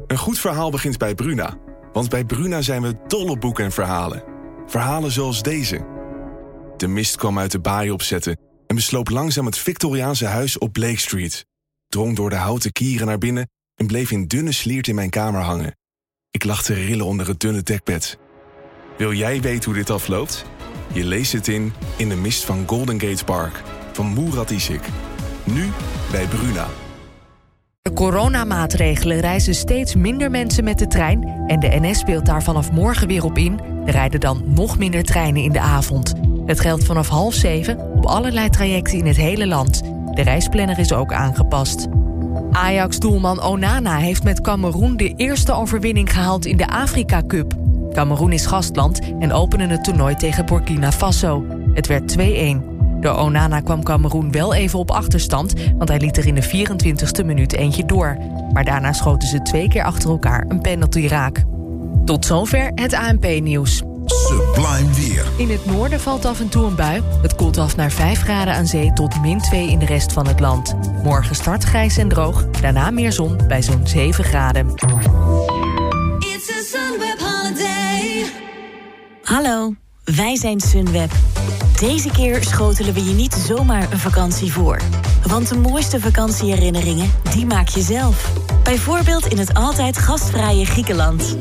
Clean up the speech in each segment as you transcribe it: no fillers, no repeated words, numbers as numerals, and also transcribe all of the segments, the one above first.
Een goed verhaal begint bij Bruna. Want bij Bruna zijn we dol op boeken en verhalen. Verhalen zoals deze. De mist kwam uit de baai opzetten en besloop langzaam het Victoriaanse huis op Blake Street. Drong door de houten kieren naar binnen en bleef in dunne sliert in mijn kamer hangen. Ik lag te rillen onder het dunne dekbed. Wil jij weten hoe dit afloopt? Je leest het in de mist van Golden Gate Park van Murat Isik. Nu bij Bruna. De coronamaatregelen reizen steeds minder mensen met de trein en de NS speelt daar vanaf morgen weer op in. Er rijden dan nog minder treinen in de avond. Het geldt vanaf 6:30 op allerlei trajecten in het hele land. De reisplanner is ook aangepast. Ajax-doelman Onana heeft met Kameroen de eerste overwinning gehaald in de Afrika Cup. Kameroen is gastland en opende het toernooi tegen Burkina Faso. Het werd 2-1. Door Onana kwam Kameroen wel even op achterstand, want hij liet er in de 24e minuut eentje door. Maar daarna schoten ze 2 keer achter elkaar een penalty raak. Tot zover het ANP-nieuws. Sublime weer. In het noorden valt af en toe een bui. Het koelt af naar 5 graden aan zee tot -2 in de rest van het land. Morgen start grijs en droog, daarna meer zon bij zo'n 7 graden. It's a Sunweb holiday. Hallo, wij zijn Sunweb. Deze keer schotelen we je niet zomaar een vakantie voor. Want de mooiste vakantieherinneringen, die maak je zelf. Bijvoorbeeld in het altijd gastvrije Griekenland.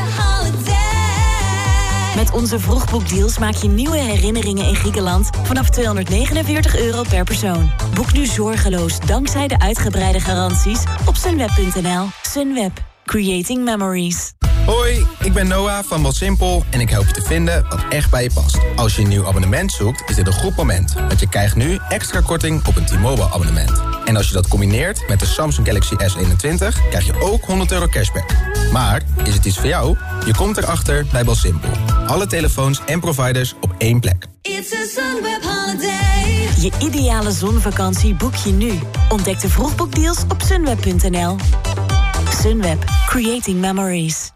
Met onze vroegboekdeals maak je nieuwe herinneringen in Griekenland vanaf €249 per persoon. Boek nu zorgeloos dankzij de uitgebreide garanties op sunweb.nl. Sunweb. Creating memories. Hoi, ik ben Noah van BelSimpel en ik help je te vinden wat echt bij je past. Als je een nieuw abonnement zoekt, is dit een goed moment. Want je krijgt nu extra korting op een T-Mobile abonnement. En als je dat combineert met de Samsung Galaxy S21, krijg je ook €100 cashback. Maar, is het iets voor jou? Je komt erachter bij BelSimpel. Alle telefoons en providers op één plek. It's a Sunweb holiday. Je ideale zonvakantie boek je nu. Ontdek de vroegboekdeals op sunweb.nl. Sunweb. Creating memories.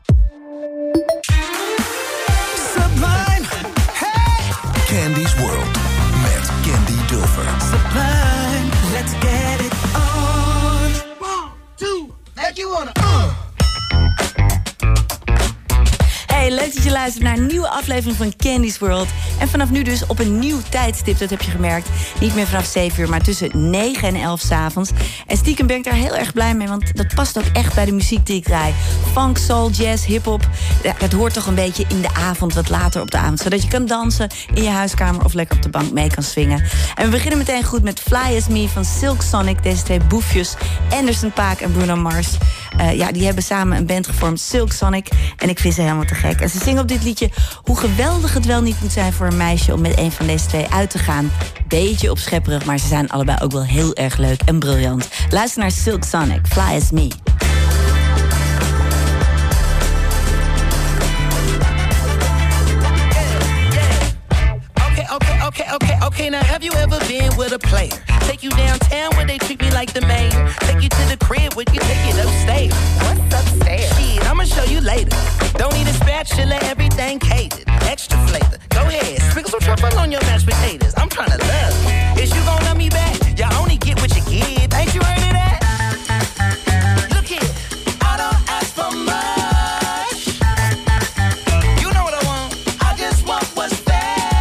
Sublime. Hey. Candy's World met Candy Dulfer. Sublime, let's get it on. 1, 2, like you wanna. Hey, leuk dat je luistert naar een nieuwe aflevering van Candy's World. En vanaf nu dus op een nieuw tijdstip, dat heb je gemerkt. Niet meer vanaf 7 uur, maar tussen 9 en 11 s'avonds. En stiekem ben ik daar heel erg blij mee, want dat past ook echt bij de muziek die ik draai. Funk, soul, jazz, hiphop. Dat hoort toch een beetje in de avond, wat later op de avond. Zodat je kan dansen in je huiskamer of lekker op de bank mee kan swingen. En we beginnen meteen goed met Fly As Me van Silk Sonic. Deze twee boefjes, Anderson .Paak en Bruno Mars. Die hebben samen een band gevormd, Silk Sonic. En ik vind ze helemaal te gek. En ze zingen op dit liedje hoe geweldig het wel niet moet zijn voor een meisje om met een van deze twee uit te gaan. Beetje opschepperig, maar ze zijn allebei ook wel heel erg leuk en briljant. Luister naar Silk Sonic, Fly As Me. Okay, now have you ever been with a player? Take you downtown where they treat me like the mayor. Take you to the crib where you take it upstairs. What's upstairs? Shit, I'ma show you later. Don't need a spatula, everything catered. Extra flavor, go ahead, sprinkle some truffle on your mashed potatoes. I'm tryna love you. Is you gon' love me back? You only get what you give. Ain't you heard of that? Look here, I don't ask for much. You know what I want, I just want what's fair.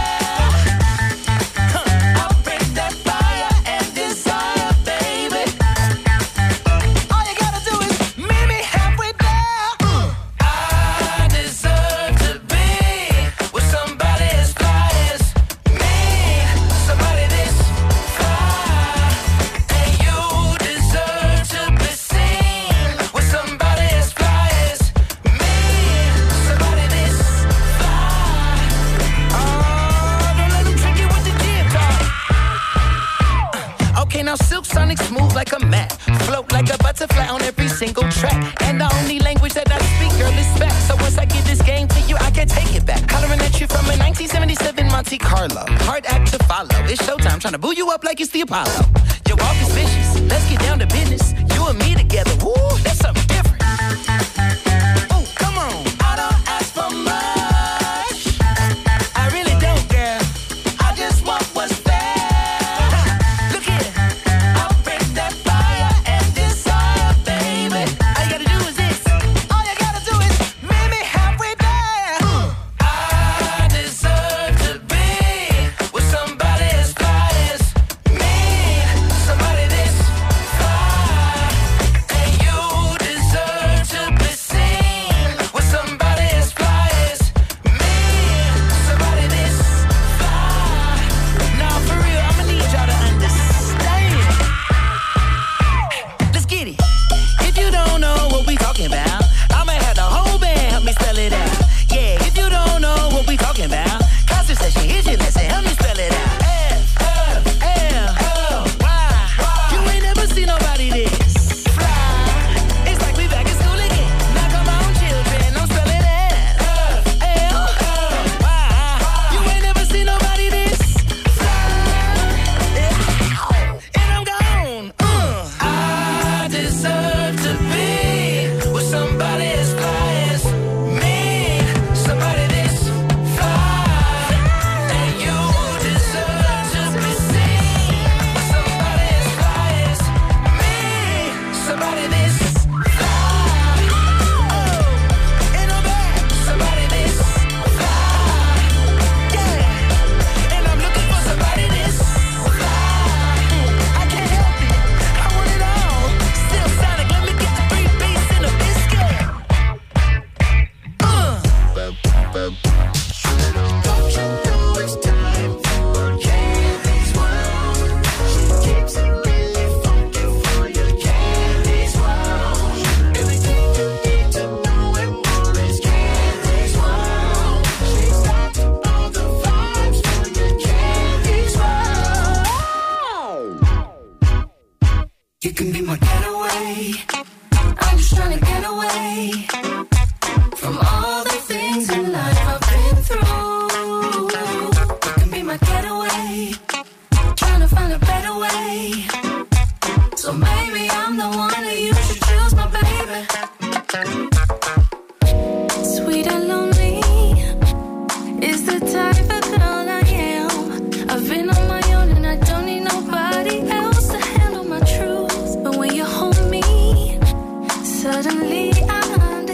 Silk Sonic smooth like a mat, float like a butterfly on every single track. And the only language that I speak, girl, is back. So once I give this game to you, I can't take it back. Hollering at you from a 1977 Monte Carlo. Hard act to follow. It's showtime, trying to boo you up like it's the Apollo. Your walk is vicious. Let's get down to business. You and me together, woo, that's something different. Ooh, come on. I don't ask for much. I really don't, girl. I just want what's fair. All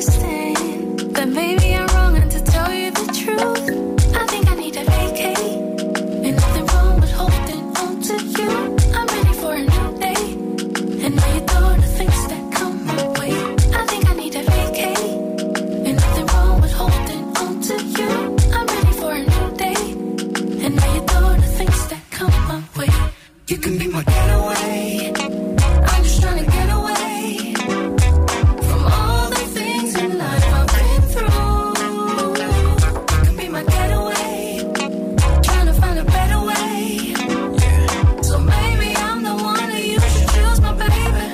understand that maybe I'm wrong, and to tell you the truth, I think I need to vacate. Ain't nothing wrong with holding on to you. I'm ready for a new day, and now you throw the things that come my way. I think I need to vacate. Ain't nothing wrong with holding on to you. I'm ready for a new day, and now you throw the things that come my way. You can be my getaway. I'm just trying to get away from all the things in life I've been through. You can be my getaway. Trying to find a better way. So maybe I'm the one that you should choose, my baby.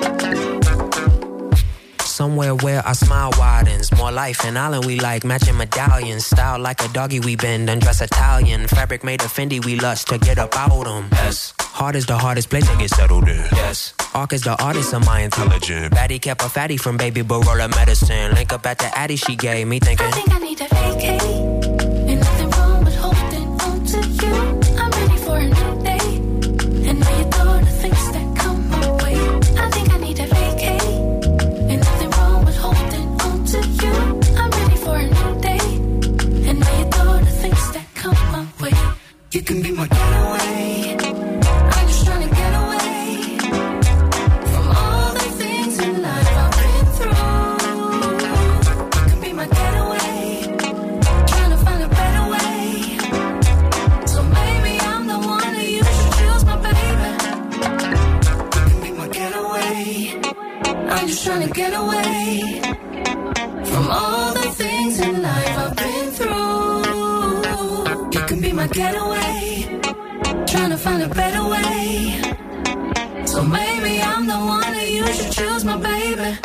Somewhere where our smile widens. More life in Island we like. Matching medallions. Style like a doggy we bend. Undress Italian. Fabric made of Fendi we lust to get about them. Yes. Heart is the hardest place to get settled in. Yes. Arc is the artist of my intelligence. Baddie kept a fatty from baby but roll her medicine. Link up at the addy she gave me thinking. I think I need to vacate. Ain't nothing wrong with holding on to you. I'm ready for a new day, and now you throw the things that come my way. I think I need to vacate. Ain't nothing wrong with holding on to you. I'm ready for a new day, and now you throw the things that come my way. You can be my getaway. I'm just trying to get away from all the things in life I've been through. You can be my getaway. Trying to find a better way. So maybe I'm the one that you should choose, my baby. You can be my getaway. I'm just trying to get away from all the things in life I've been through. You can be my getaway. Trying to find a better way. So maybe I'm the one that you should choose, my baby.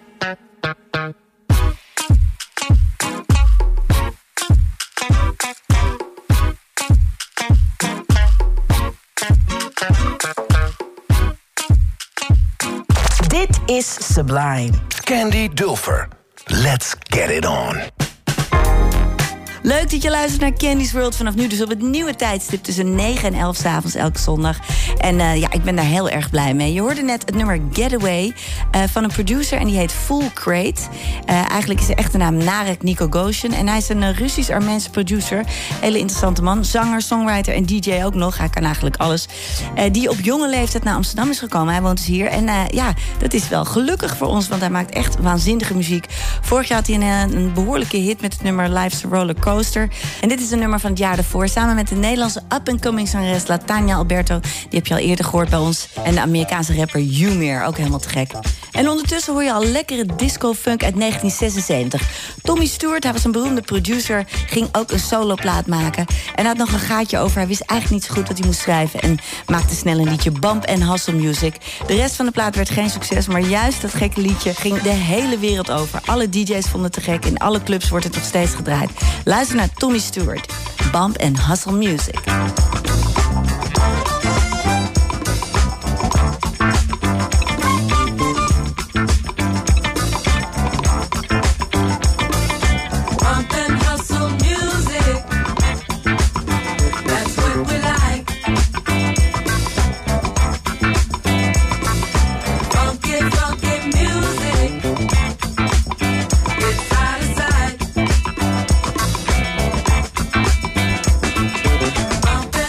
Dit is Sublime. Candy Dulfer. Let's get it on. Leuk dat je luistert naar Candy's World. Vanaf nu dus op het nieuwe tijdstip tussen 9 en 11 's avonds elke zondag. En ja, ik ben daar heel erg blij mee. Je hoorde net het nummer Getaway van een producer en die heet Full Crate. Eigenlijk is de echte naam Narek Nikogoshin. En hij is een Russisch-Armeense producer. Hele interessante man. Zanger, songwriter en DJ ook nog. Hij kan eigenlijk alles. Die op jonge leeftijd naar Amsterdam is gekomen. Hij woont dus hier. En ja, dat is wel gelukkig voor ons, want hij maakt echt waanzinnige muziek. Vorig jaar had hij een behoorlijke hit met het nummer Life's a Roller Coaster. En dit is een nummer van het jaar ervoor. Samen met de Nederlandse up-and-coming zangeres Latanya Alberto. Die heb je al eerder gehoord bij ons. En de Amerikaanse rapper Umeer, ook helemaal te gek. En ondertussen hoor je al lekkere disco-funk uit 1976. Tommy Stewart, hij was een beroemde producer, ging ook een soloplaat maken. En hij had nog een gaatje over. Hij wist eigenlijk niet zo goed wat hij moest schrijven. En maakte snel een liedje, Bump and Hustle Music. De rest van de plaat werd geen succes. Maar juist dat gekke liedje ging de hele wereld over. Alle DJ's vonden het te gek. In alle clubs wordt het nog steeds gedraaid. Luister naar Tommy Stewart. Bump and Hustle Music. Bump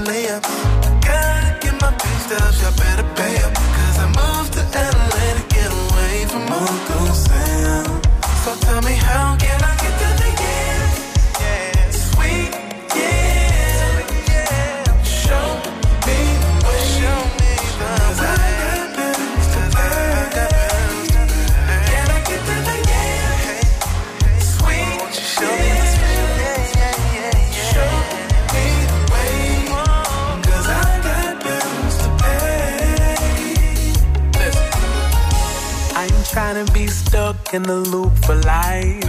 layups. Gotta get my pay stubs, y'all better pay up. Cause I moved to LA to get away from Uncle Sam. So tell me how can I get to the yeah, sweet, yeah. Show me the way. Cause I got bills to pay. Can I get to the yeah, sweet, show me the show me the way. Cause I got bills to pay. Listen, I ain't trying to be stuck in the loop for life.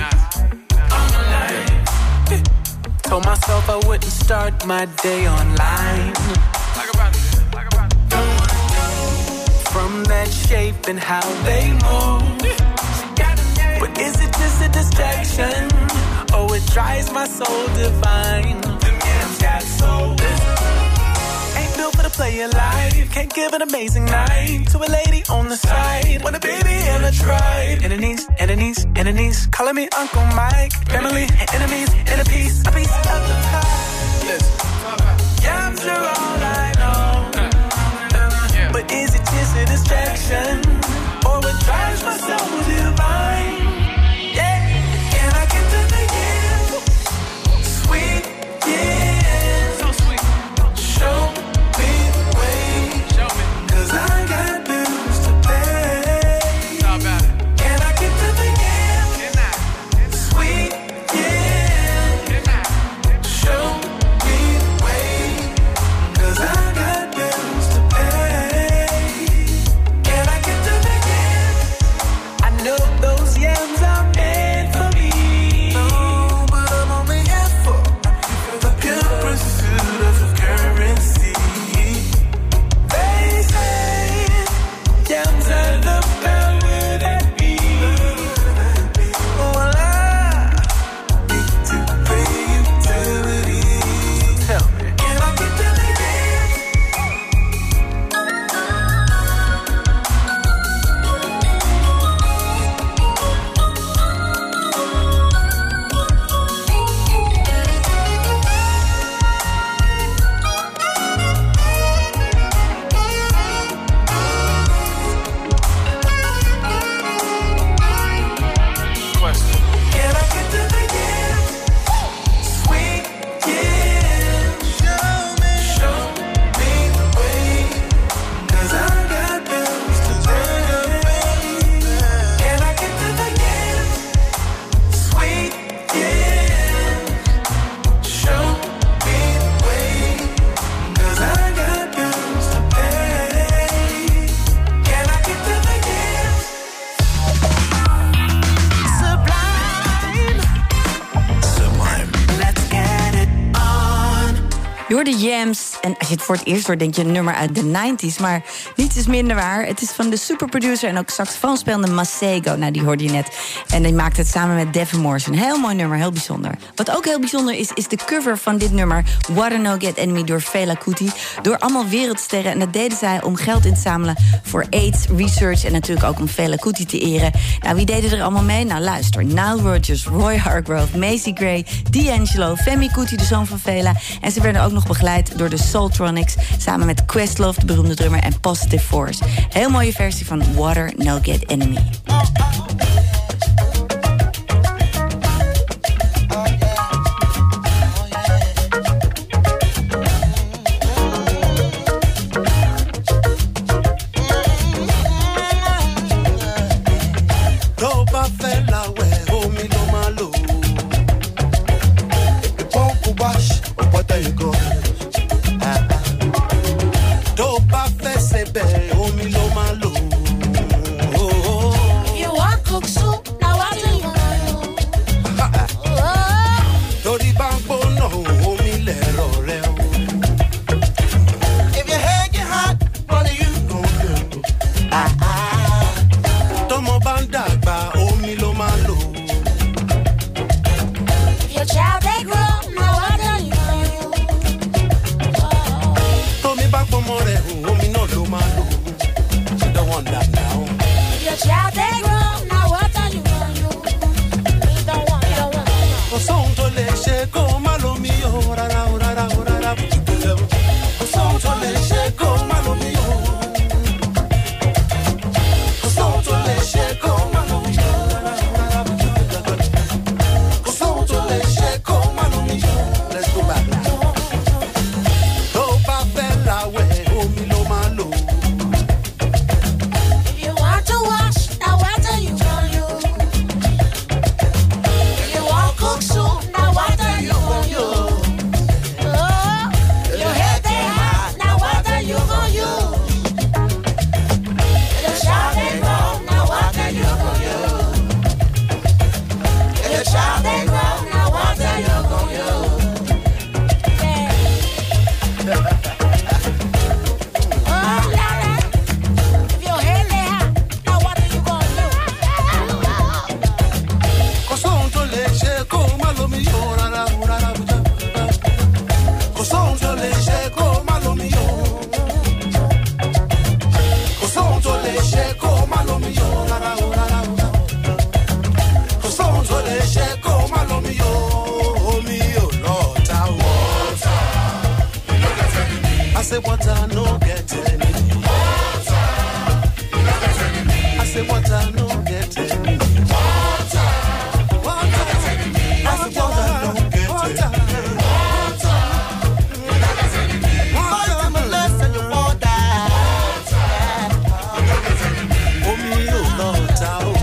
Told myself I wouldn't start my day online. From that shape and how they move. But is it just a distraction? Oh, it drives my soul divine. Them yams got soul. Ain't built for the player life. Can't give an amazing night to a lady on the side. Want a baby and a tribe. Enemies, enemies, enemies. Calling me Uncle Mike. Family, enemies, and a piece of the pie. Listen. Yams are all I know. But is it just a distraction? Or what drives my soul divine? Yeah. Can I get to the yeah? Sweet, yeah. So sweet. Show me the way. Show me. Cause I got bills to pay. How about it? Can I get to the yeah? Can I? Sweet, yeah. Can I? Show me the way. Cause I got bills to pay. Can I get to the yeah? I know those yams are meant for me. No, but I'm only here for the pure pursuit of currency. They say yams are the power that be. Well, I need to pay utilities. Tell me, can I get to the yeah? Can I get to the yeah? Sweet, yeah. Show me the way. Cause I got bills to pay. Can I get to the yeah? Sweet, yeah. Show me the way. Cause I got bills to pay. Can I get to the yeah? Sublime. Let's get it on. Je hoort de Yams. En als je het voor het eerst hoort, denk je een nummer uit de 90s. Maar niets is minder waar. Het is van de superproducer en ook saxofoonspelende Masego. Nou, die hoorde je net. En die maakte het samen met Devin Morrison. Heel mooi nummer, heel bijzonder. Wat ook heel bijzonder is de cover van dit nummer... What a No Get Enemy door Fela Kuti. Door allemaal wereldsterren. En dat deden zij om geld in te zamelen voor AIDS, research... en natuurlijk ook om Fela Kuti te eren. Nou, wie deden er allemaal mee? Nou, luister. Nile Rodgers, Roy Hargrove, Macy Gray... D'Angelo, Femi Kuti, de zoon van Fela. En ze werden ook nog begeleid door de Soultronics... samen met Questlove, de beroemde drummer, en Positive Force. Heel mooie versie van Water No Get Enemy. Tó bá fẹ́ láwẹ̀ omi ló máa lò. Ìpọ́nkú wash ọ̀pọ̀tẹ́ ìgò. Tó bá fẹ́ sebẹ̀ omi ló máa lò. You want cook soup? Now what do you want? Torí bá ń gbóná omi lẹ̀rọ rẹ o. If your head get hot, what are you gonna do? Tọ́mọ bá ń dàgbà omi ló máa lò. If your child they grow, now what do you want? Tómi bá pọmọ rẹ̀ omi náà ló máa lò. Water no get any. Water, no get any. I say water no get any. Water, water, I say water no get any. Water, no get any. Water, my less than your water. Water, no get any. Oh me, oh Lord, oh.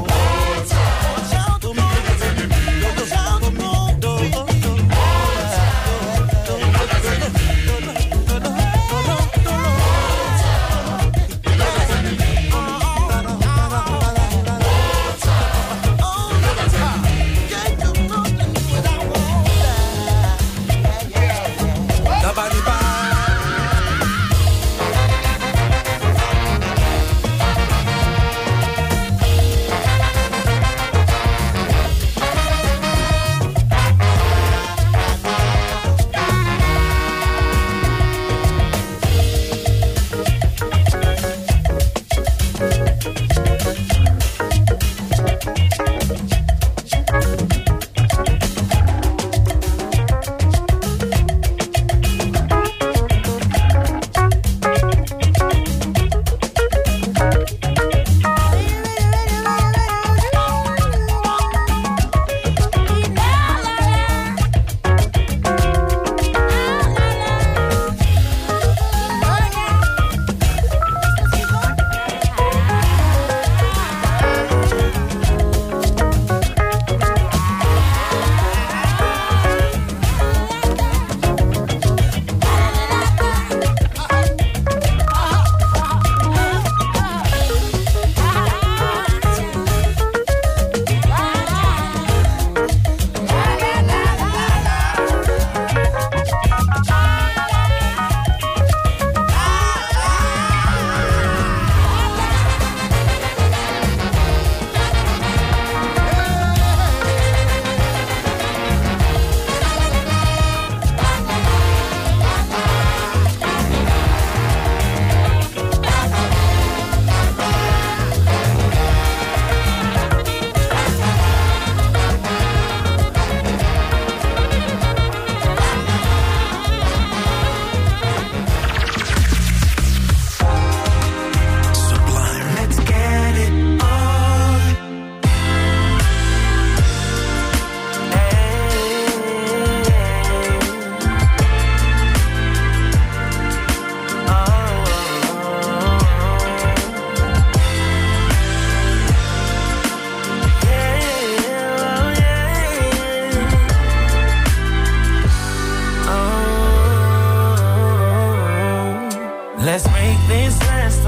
Let's make this last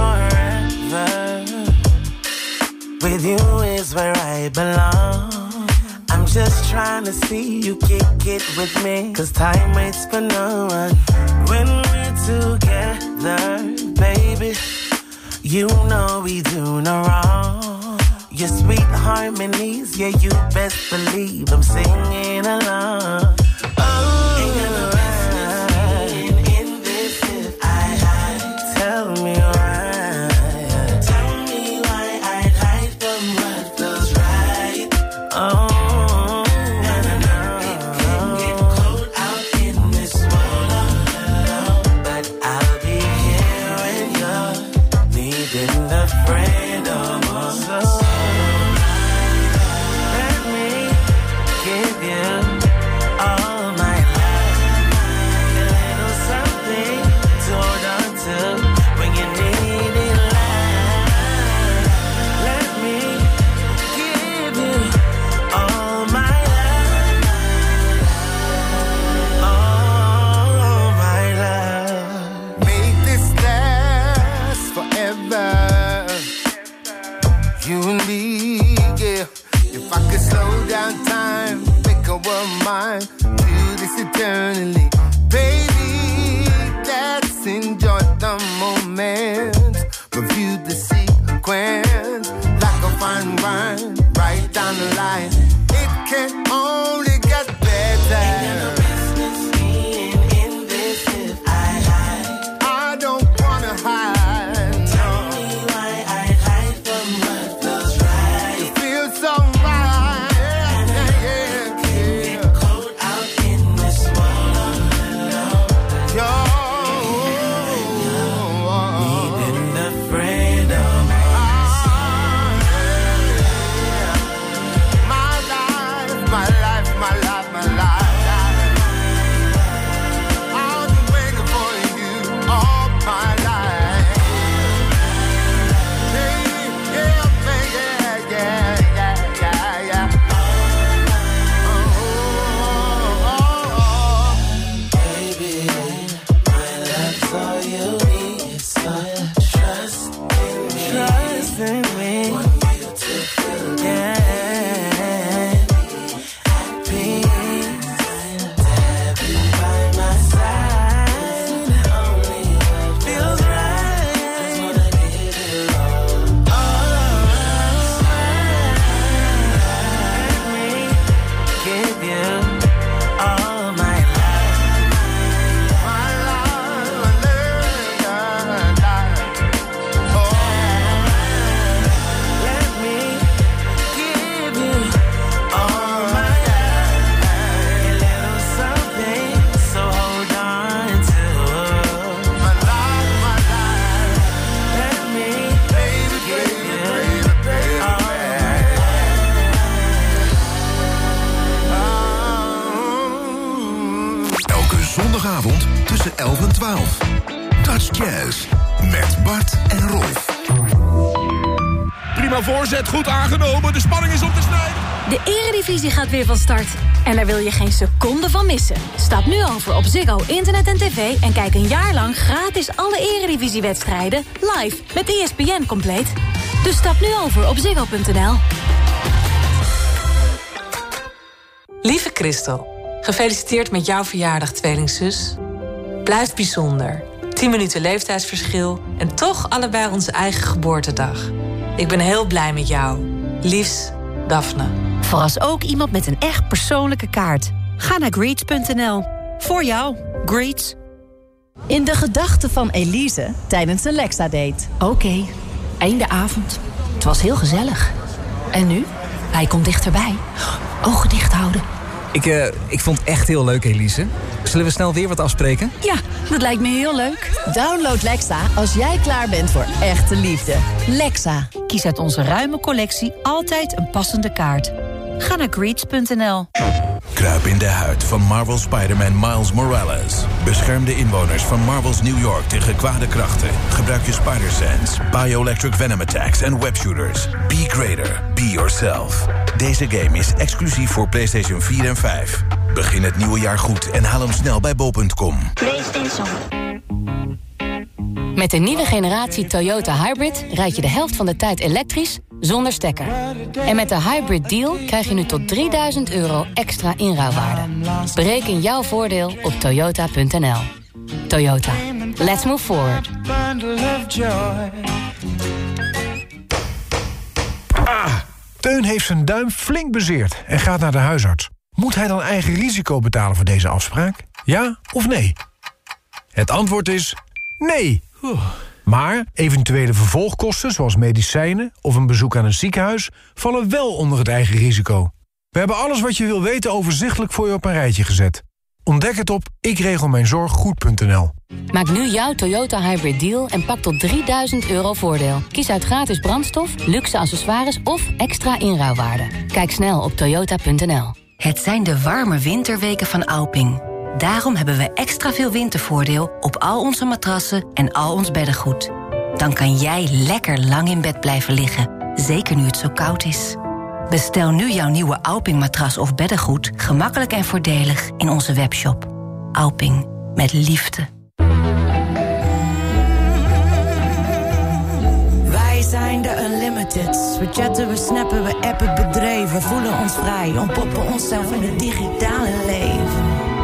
forever. With you is where I belong. I'm just trying to see you kick it with me, 'cause time waits for no one. When we're together, baby, you know we do no wrong. Your sweet harmonies, yeah, you best believe I'm singing along. Eternally, baby, let's enjoy the moment. Review the sequence like a fine wine, right down the line. It can only get better. Ain't no business being in this 11 en 12. Dutch Jazz met Bart en Rolf. Prima voorzet, goed aangenomen. De spanning is op te snijden. De Eredivisie gaat weer van start. En daar wil je geen seconde van missen. Stap nu over op Ziggo Internet en TV... en kijk een jaar lang gratis alle Eredivisiewedstrijden live met ESPN compleet. Dus stap nu over op ziggo.nl. Lieve Christel, gefeliciteerd met jouw verjaardag, tweelingzus. Blijft bijzonder. 10 minuten leeftijdsverschil en toch allebei onze eigen geboortedag. Ik ben heel blij met jou. Liefs, Daphne. Verras ook iemand met een echt persoonlijke kaart. Ga naar greets.nl. Voor jou, Greets. In de gedachten van Elise tijdens een Lexa-date. Oké, einde avond. Het was heel gezellig. En nu? Hij komt dichterbij. Ogen dicht houden. Ik vond het echt heel leuk, Elise. Zullen we snel weer wat afspreken? Ja, dat lijkt me heel leuk. Download Lexa als jij klaar bent voor echte liefde. Lexa. Kies uit onze ruime collectie altijd een passende kaart. Ga naar greets.nl. Kruip in de huid van Marvel Spider-Man Miles Morales. Bescherm de inwoners van Marvel's New York tegen kwade krachten. Gebruik je Spider-Sense, Bioelectric Venom Attacks en webshooters. Be greater, be yourself. Deze game is exclusief voor PlayStation 4 en 5. Begin het nieuwe jaar goed en haal hem snel bij bol.com. Met de nieuwe generatie Toyota Hybrid rijd je de helft van de tijd elektrisch zonder stekker. En met de Hybrid Deal krijg je nu tot €3000 extra inruilwaarde. Bereken jouw voordeel op toyota.nl. Toyota. Let's move forward. Teun heeft zijn duim flink bezeerd en gaat naar de huisarts. Moet hij dan eigen risico betalen voor deze afspraak? Ja of nee? Het antwoord is nee. Maar eventuele vervolgkosten, zoals medicijnen of een bezoek aan een ziekenhuis, vallen wel onder het eigen risico. We hebben alles wat je wil weten overzichtelijk voor je op een rijtje gezet. Ontdek het op ikregelmijnzorggoed.nl. Maak nu jouw Toyota Hybrid Deal en pak tot €3000 voordeel. Kies uit gratis brandstof, luxe accessoires of extra inruilwaarde. Kijk snel op toyota.nl. Het zijn de warme winterweken van Alping. Daarom hebben we extra veel wintervoordeel op al onze matrassen en al ons beddengoed. Dan kan jij lekker lang in bed blijven liggen, zeker nu het zo koud is. Bestel nu jouw nieuwe Alping-matras of beddengoed gemakkelijk en voordelig in onze webshop. Alping, met liefde. Wij zijn de Unlimiteds. We chatten, we snappen, we appen bedreven. Voelen ons vrij, ontpoppen onszelf in het digitale leven.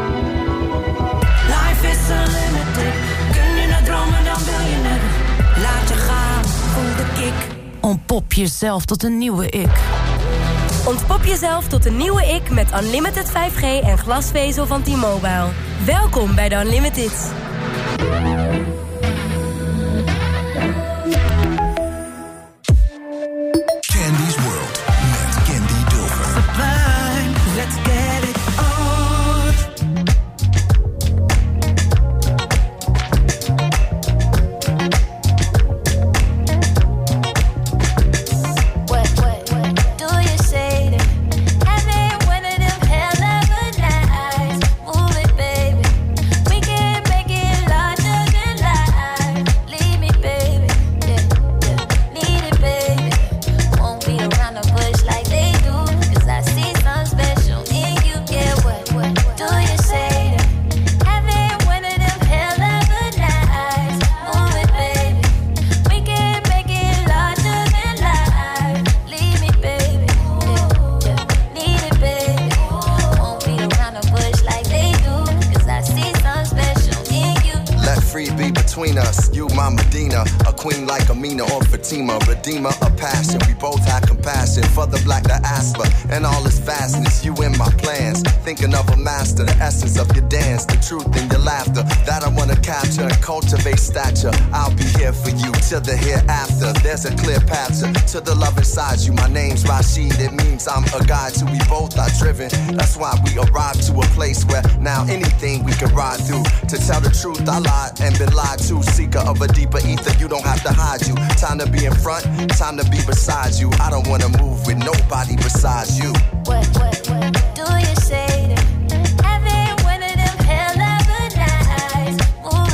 Life is unlimited. Kun je het dromen, dan wil je het. Laat je gaan, voel de kick. Ontpop jezelf tot een nieuwe ik. Ontpop jezelf tot een nieuwe ik met Unlimited 5G en glasvezel van T-Mobile. Welkom bij de Unlimited. Candy's World met Candy Dulfer. Let's get it on. Redeemer of passion, we both have compassion for the black diaspora and all its vastness. You in my plans, thinking of a master, the essence of your dance, the truth in your laughter that I wanna capture and cultivate stature. I'll be here for you till the hereafter. There's a clear path to the love inside you. My name's Rashid, it means I'm a guide to we both are driven. That's why we arrived to a place where now anything we can ride through. To tell the truth, I lied and been lied to. Seeker of a deeper ether, you don't have to hide you. Time to be in front, time to be beside you. I don't wanna move with nobody besides you. What do you say to having one of them hell of a nights? Ooh,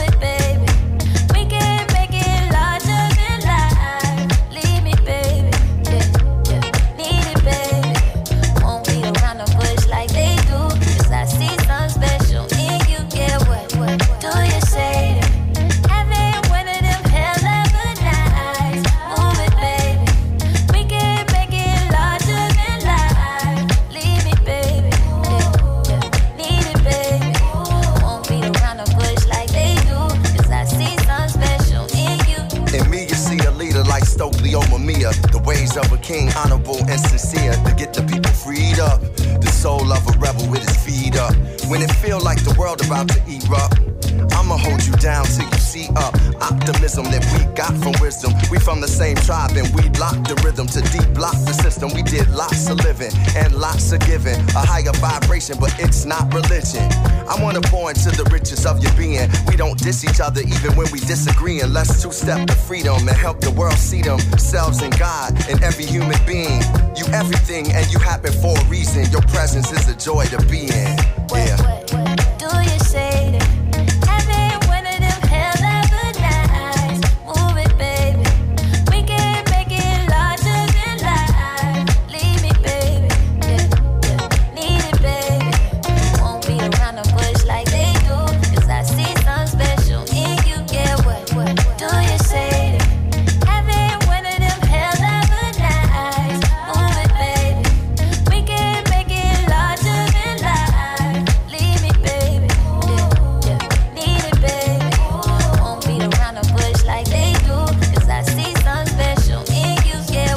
ways of a king, honorable and sincere, to get the people freed up. The soul of a rebel with his feet up. When it feel like the world about to erupt, I'ma hold you down till you see up. Optimism that we got from wisdom. We from the same tribe and we locked the rhythm to deep block the system. We did lots of living and lots of giving. A higher vibration, but it's not religion. I wanna pour into the riches of your being. We don't diss each other even when we disagree. And let's two-step to freedom and help the world see themselves in God and every human being. You everything and you happen for a reason. Your presence is a joy to be in. Yeah. What do you say to having one of them hell of a nights? Move it, baby. We can make it larger than life. Leave me, baby. Yeah, yeah. Need it, baby. Won't be around the bush like they do. 'Cause I see something special in you. Yeah, what do you say to having one of them hell of a nights? Move it, baby. We can make it larger than life. Leave me, baby. Yeah, yeah. Need it, baby. Won't beat around the bush like they do. 'Cause I see something special in you. Yeah,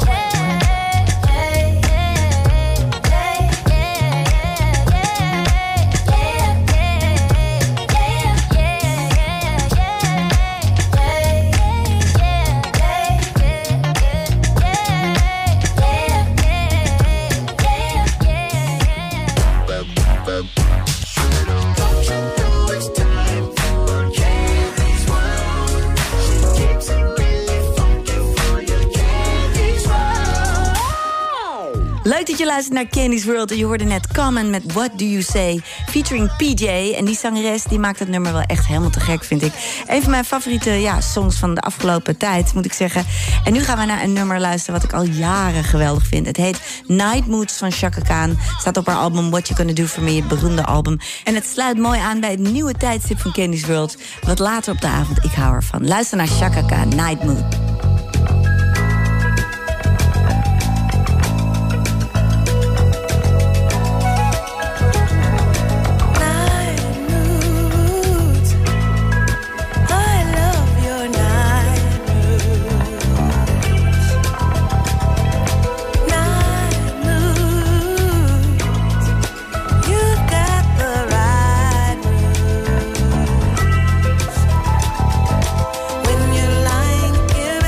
Leuk dat je luistert naar Candy's World. En je hoorde net Common met What Do You Say, featuring PJ. En die zangeres die maakt het nummer wel echt helemaal te gek, vind ik. Een van mijn favoriete songs van de afgelopen tijd, moet ik zeggen. En nu gaan we naar een nummer luisteren wat ik al jaren geweldig vind. Het heet Night Moods van Chaka Khan. Staat op haar album What You Gonna Do For Me, het beroemde album. En het sluit mooi aan bij het nieuwe tijdstip van Candy's World. Wat later op de avond, ik hou ervan. Luister naar Chaka Khan, Night Mood. When you're lying here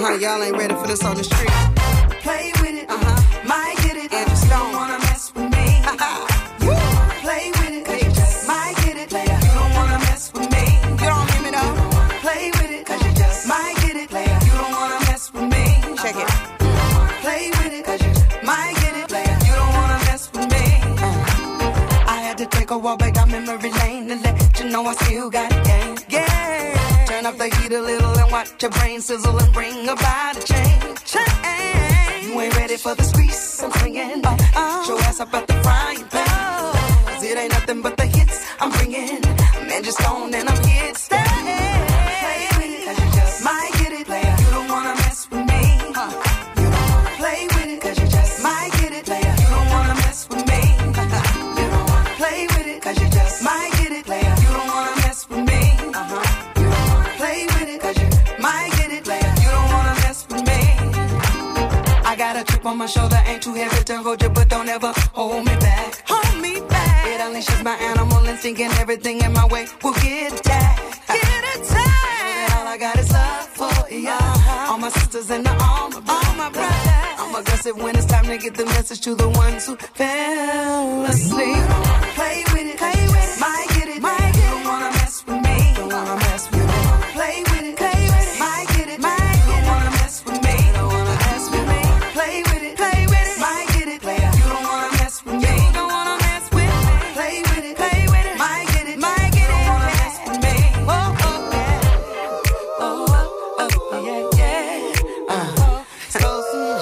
like y'all ain't ready for this on the street. Play with it, might get it. If you don't wanna mess with me, play with it, 'cause you just might get it. You don't wanna mess with me. You don't hear me though? Play with it, 'cause you just might get it. You don't wanna mess with me. Check it. Play with it, 'cause you might get it. You don't wanna mess with me. I had to take a walk back down memory lane to let you know I still got a game. Yeah. Turn up the heat a little and watch your brain sizzle and bring about a change. You ain't ready for the squeeze, I'm bringing. Show ass up at the frying pan. 'Cause it ain't nothing but the hits I'm bringing. Man, just gone and I'm here to stay. Play with it, 'cause you just might get it. You don't wanna mess with me. Play with it, 'cause you just might get it. You don't wanna mess with me. Play with it, 'cause you just might get it. You don't wanna mess with me. Play with it, 'cause you might get it. You don't wanna mess with me. I got a chip on my shoulder, ain't too heavy to hold you, but don't ever hold me back. Hold me back. It unleashes my animal instinct and everything in my way will get attacked. Get attacked. All I got is love for ya. All my sisters in the arm of all my brothers. I'm aggressive when it's time to get the message to the ones who fell asleep. Play with it, might get it. You don't wanna mess with me. Don't wanna mess with me. Play with it, might get it. You don't wanna mess with me. Don't wanna mess with me. Play with it, might get it. You don't wanna mess with me. You don't wanna mess with me. Play with it, might get it. You don't wanna mess with me. Oh, oh, yeah. Oh, oh, oh, yeah, yeah. So soon.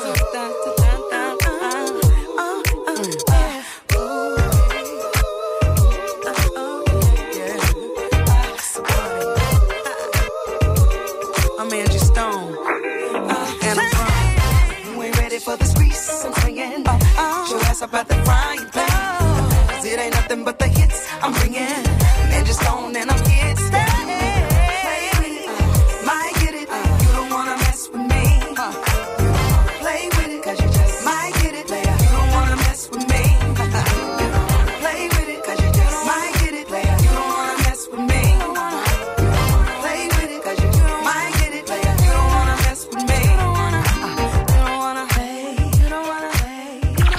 I'm Angie Stone, and I'm from. You ain't ready for the squeeze, I'm saying. Show ass up at the frying pan. 'Cause it ain't nothing but the hits I'm bringing. Man, just gone and I'm here to stay. Play with it, might get it. You don't wanna mess with me. Play with it, 'cause you just might get it. You don't wanna mess with me. Play with it, 'cause you just might get it. You don't wanna mess with me. Play with it, 'cause you might get it. You don't wanna mess with me. You don't wanna play. You don't wanna play.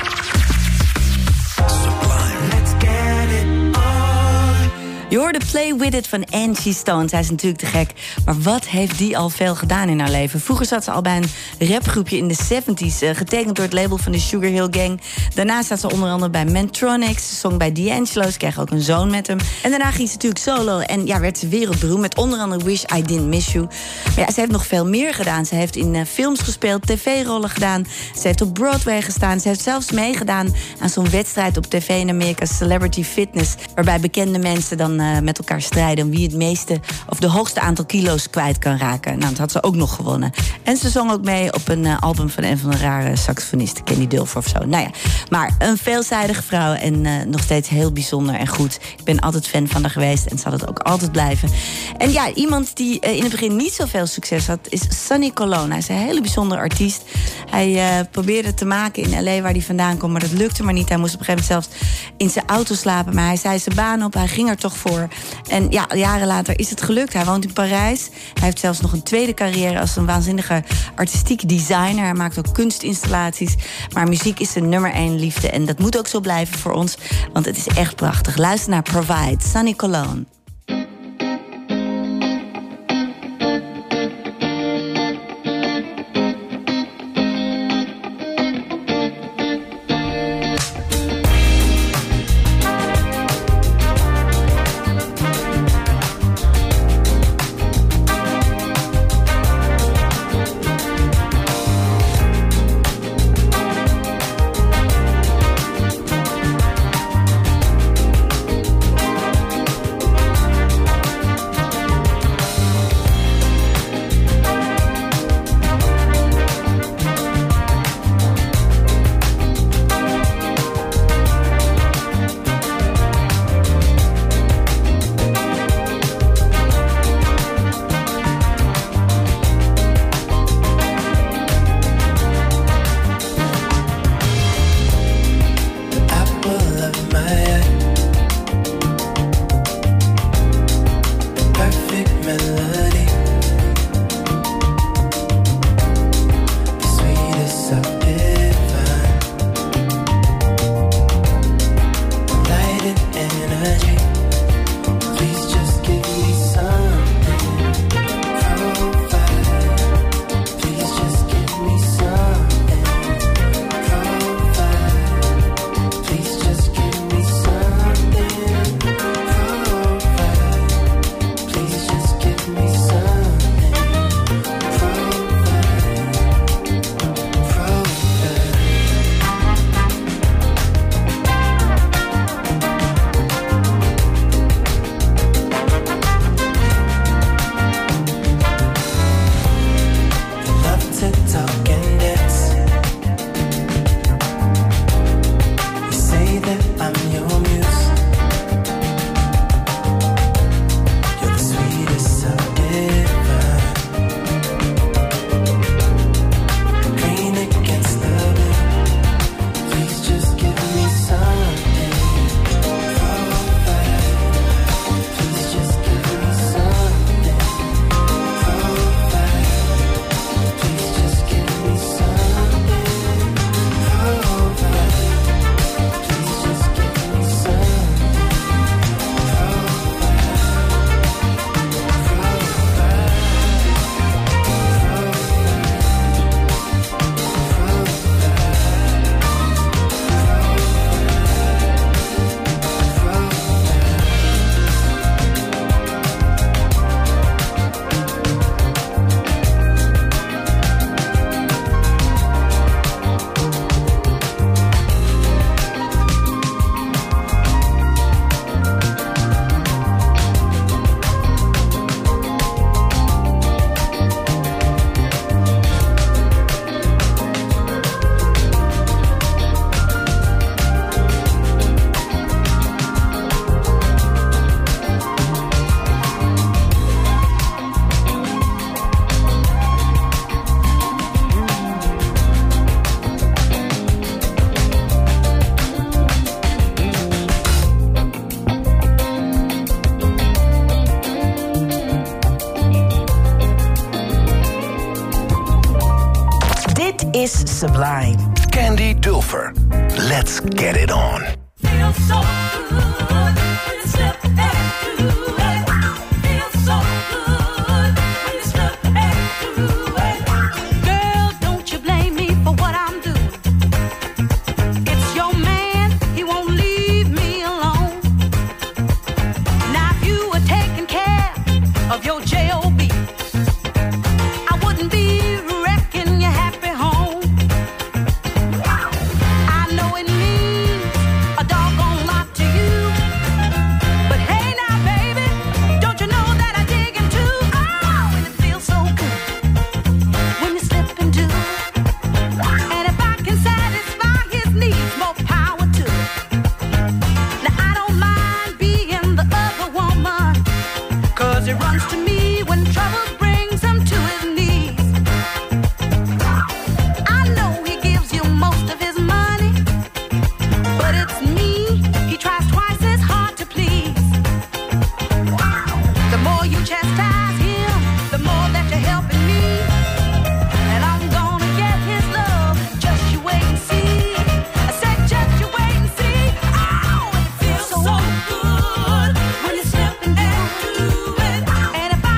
Let's get it on. Je hoorde Play With It van Angie Stone. Zij is natuurlijk te gek. Maar wat heeft die al veel gedaan in haar leven? Vroeger zat ze al bij een rapgroepje in de 70s. Getekend door het label van de Sugar Hill Gang. Daarna staat ze onder andere bij Mantronics. Ze zong bij D'Angelo. Ze kreeg ook een zoon met hem. En daarna ging ze natuurlijk solo. En ja, werd ze wereldberoemd met onder andere Wish I Didn't Miss You. Maar ja, ze heeft nog veel meer gedaan. Ze heeft in films gespeeld, tv-rollen gedaan. Ze heeft op Broadway gestaan. Ze heeft zelfs meegedaan aan zo'n wedstrijd op tv in Amerika, Celebrity Fitness. Waarbij bekende mensen dan met elkaar strijden om wie het meeste of de hoogste aantal kilo's kwijt kan raken. Nou, dat had ze ook nog gewonnen. En ze zong ook mee op een album van een van de rare saxofonisten, Kenny Dulfer of zo. Nou ja, maar een veelzijdige vrouw en nog steeds heel bijzonder en goed. Ik ben altijd fan van haar geweest en zal het ook altijd blijven. En ja, iemand die in het begin niet zoveel succes had, is Sonny Colon. Hij is een hele bijzondere artiest. Hij probeerde het te maken in L.A. waar hij vandaan komt, maar dat lukte maar niet. Hij moest op een gegeven moment zelfs in zijn auto slapen, maar hij zei zijn baan op, hij ging er toch voor. En ja, jaren later is het gelukt. Hij woont in Parijs. Hij heeft zelfs nog een tweede carrière als een waanzinnige artistiek designer. Hij maakt ook kunstinstallaties. Maar muziek is zijn nummer 1 liefde. En dat moet ook zo blijven voor ons, want het is echt prachtig. Luister naar Provide, Sonny Colon. energy. Please just give me something. Provide. Please just give me something. Provide. Please just give me something. Provide. Please just give me something. Love to talk and dance. You say that I'm your muse. You're the sweetest so divine. Green against the blue. Please just give me something. Provide. Please just give me something. Provide. Please just give me something. Provide. Please just give me Dit is Sublime. Candy Dulfer. Let's get it on. Feels so good when you slip and do it. Feels so good when you slip and do it. Girl, don't you blame me for what I'm doing. It's your man, he won't leave me alone. Now if you were taking care of your J.O.B., I wouldn't be wrecking your happy home. I know it means a doggone lot to you. But hey now, baby, don't you know that I dig him too? Oh, and it feels so good when you slip and do. And if I can satisfy his needs, more power to it. Now I don't mind being the other woman, 'cause it runs to me when trouble brings him to his knees. I know he gives you most of his money, but it's me he tries twice as hard to please. The more you chastise him, the more that you're helping me. And I'm gonna get his love, just you wait and see. I said just you wait and see. Oh, it feels so good when you slip and do it. And if I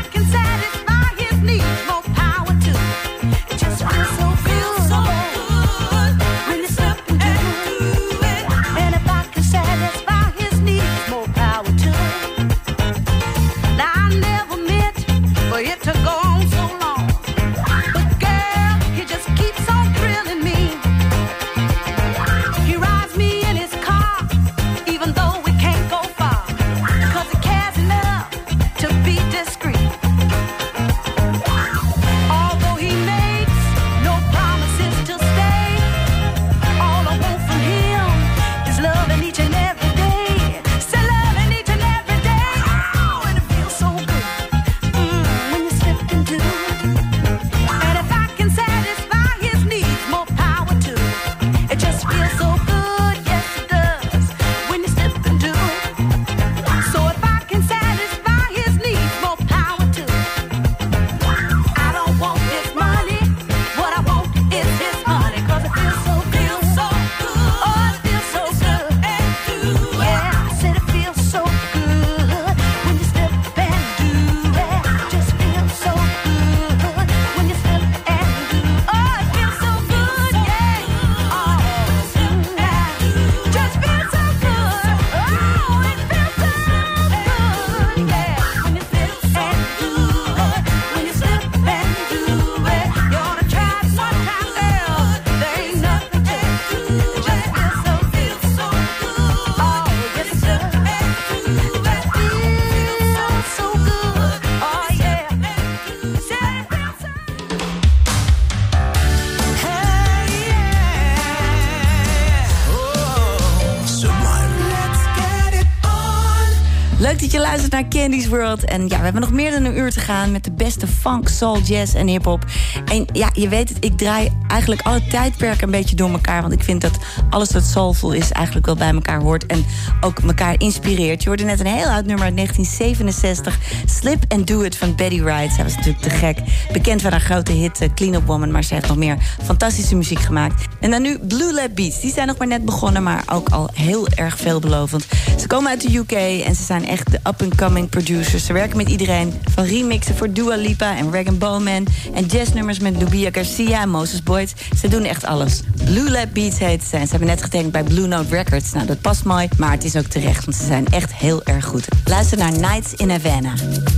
Leuk dat je luistert naar Candy's World. En ja, we hebben nog meer dan een uur te gaan met de beste funk, soul, jazz en hiphop. En ja, je weet het, ik draai eigenlijk alle tijdperken een beetje door elkaar. Want ik vind dat alles wat soulful is eigenlijk wel bij elkaar hoort. En ook elkaar inspireert. Je hoorde net een heel oud nummer uit 1967. Slip and Do It van Betty Wright. Zij was natuurlijk te gek. Bekend van haar grote hit Clean Up Woman. Maar ze heeft nog meer fantastische muziek gemaakt. En dan nu Blue Lab Beats. Die zijn nog maar net begonnen, maar ook al heel erg veelbelovend. Ze komen uit de UK en ze zijn echt de up-and-coming producers. Ze werken met iedereen. Van remixen voor Dua Lipa en Rag & Bowman. En jazznummers met Nubia Garcia en Moses Boyd. Ze doen echt alles. Blue Lab Beats heet ze. En ze hebben net getekend bij Blue Note Records. Nou, dat past mooi, maar het is ook terecht. Want ze zijn echt heel erg goed. Luister naar Nights in Havana.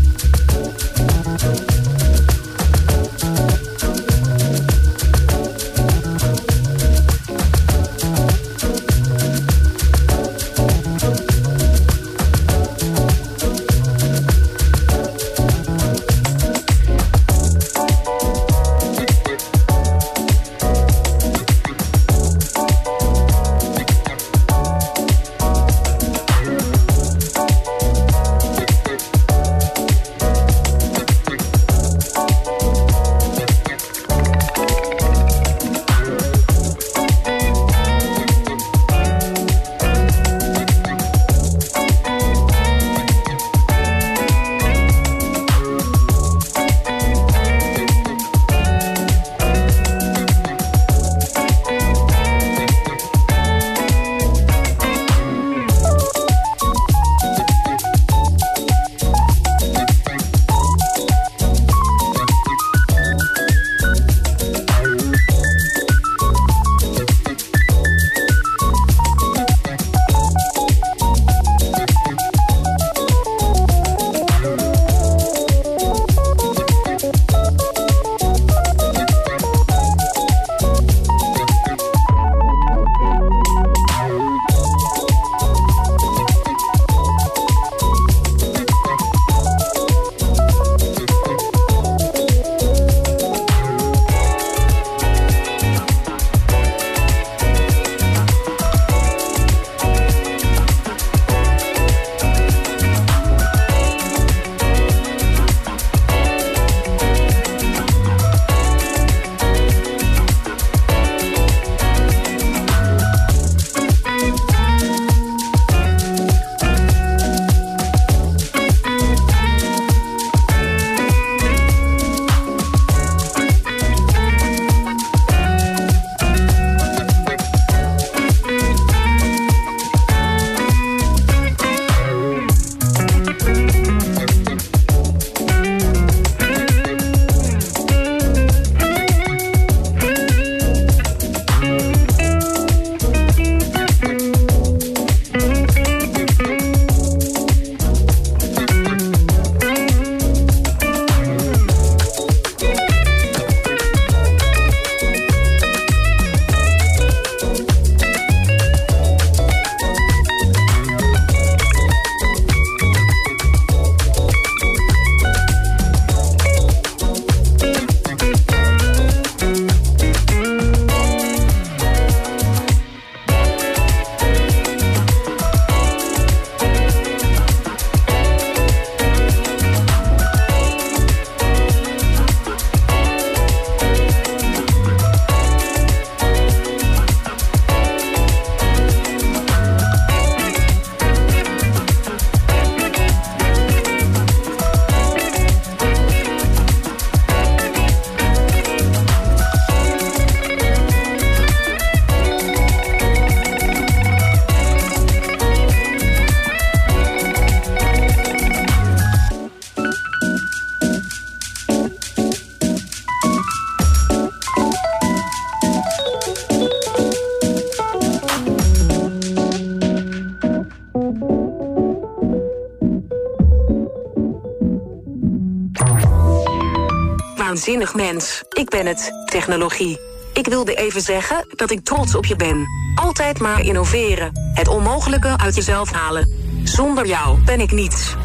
Waanzinnig mens. Ik ben het. Technologie. Ik wilde even zeggen dat ik trots op je ben. Altijd maar innoveren. Het onmogelijke uit jezelf halen. Zonder jou ben ik niets.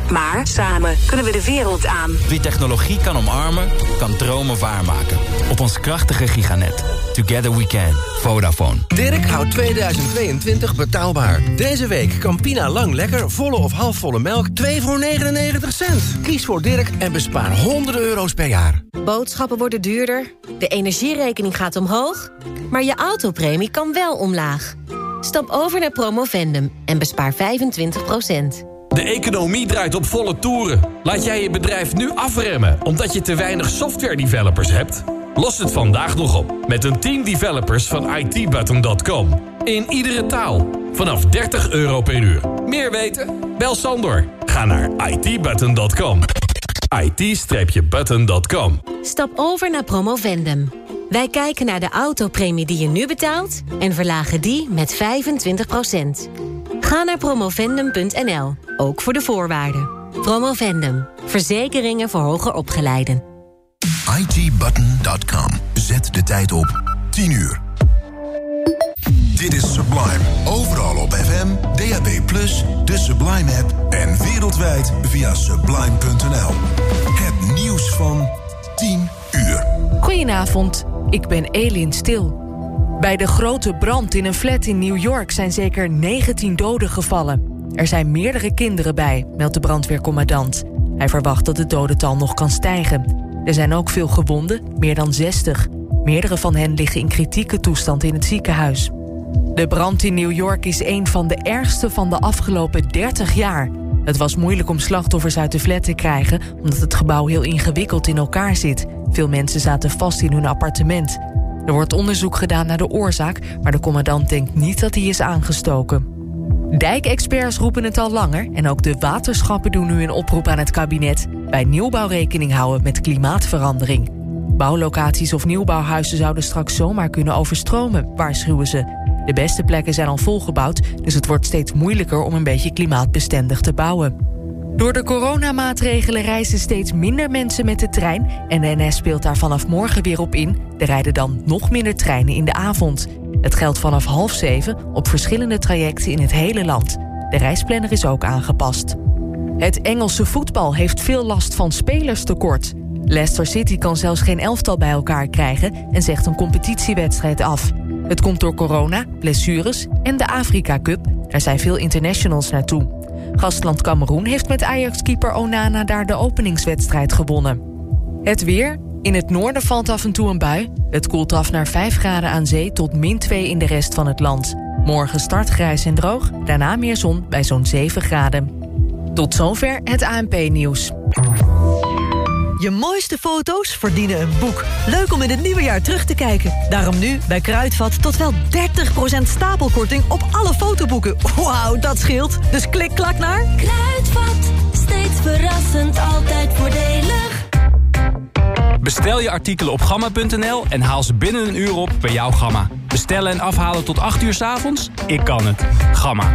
Maar samen kunnen we de wereld aan. Wie technologie kan omarmen, kan dromen waarmaken. Op ons krachtige giganet. Together we can. Vodafone. Dirk houdt 2022 betaalbaar. Deze week Campina Lang Lekker, volle of halfvolle melk, 2 voor 99 cent. Kies voor Dirk en bespaar honderden euro's per jaar. Boodschappen worden duurder, de energierekening gaat omhoog, maar je autopremie kan wel omlaag. Stap over naar Promovendum en bespaar 25%. De economie draait op volle toeren. Laat jij je bedrijf nu afremmen omdat je te weinig software-developers hebt? Los het vandaag nog op met een team developers van itbutton.com. In iedere taal. Vanaf €30 per uur. Meer weten? Bel Sandor. Ga naar itbutton.com. it-button.com. Stap over naar Promovendum. Wij kijken naar de autopremie die je nu betaalt en verlagen die met 25%. Ga naar promovendum.nl, ook voor de voorwaarden. Promovendum, verzekeringen voor hoger opgeleiden. itbutton.com. Zet de tijd op 10 uur. Dit is Sublime. Overal op FM, DAB+, de Sublime-app en wereldwijd via sublime.nl. Het nieuws van 10 uur. Goedenavond, ik ben Elin Stil. Bij de grote brand in een flat in New York zijn zeker 19 doden gevallen. Er zijn meerdere kinderen bij, meldt de brandweercommandant. Hij verwacht dat het dodental nog kan stijgen. Er zijn ook veel gewonden, meer dan 60. Meerdere van hen liggen in kritieke toestand in het ziekenhuis. De brand in New York is een van de ergste van de afgelopen 30 jaar. Het was moeilijk om slachtoffers uit de flat te krijgen, omdat het gebouw heel ingewikkeld in elkaar zit. Veel mensen zaten vast in hun appartement. Er wordt onderzoek gedaan naar de oorzaak, maar de commandant denkt niet dat hij is aangestoken. Dijkexperts roepen het al langer en ook de waterschappen doen nu een oproep aan het kabinet. Bij nieuwbouw rekening houden met klimaatverandering. Bouwlocaties of nieuwbouwhuizen zouden straks zomaar kunnen overstromen, waarschuwen ze. De beste plekken zijn al volgebouwd, dus het wordt steeds moeilijker om een beetje klimaatbestendig te bouwen. Door de coronamaatregelen reizen steeds minder mensen met de trein en de NS speelt daar vanaf morgen weer op in. Er rijden dan nog minder treinen in de avond. Het geldt vanaf 6:30 op verschillende trajecten in het hele land. De reisplanner is ook aangepast. Het Engelse voetbal heeft veel last van spelerstekort. Leicester City kan zelfs geen elftal bij elkaar krijgen en zegt een competitiewedstrijd af. Het komt door corona, blessures en de Afrika Cup. Daar zijn veel internationals naartoe. Gastland Kameroen heeft met Ajax-keeper Onana daar de openingswedstrijd gewonnen. Het weer. In het noorden valt af en toe een bui. Het koelt af naar 5 graden aan zee tot -2 in de rest van het land. Morgen start grijs en droog, daarna meer zon bij zo'n 7 graden. Tot zover het ANP-nieuws. Je mooiste foto's verdienen een boek. Leuk om in het nieuwe jaar terug te kijken. Daarom nu bij Kruidvat tot wel 30% stapelkorting op alle fotoboeken. Wauw, dat scheelt. Dus klik, klak naar... Kruidvat, steeds verrassend, altijd voordelig. Bestel je artikelen op gamma.nl en haal ze binnen een uur op bij jouw Gamma. Bestellen en afhalen tot 8 uur 's avonds? Ik kan het. Gamma.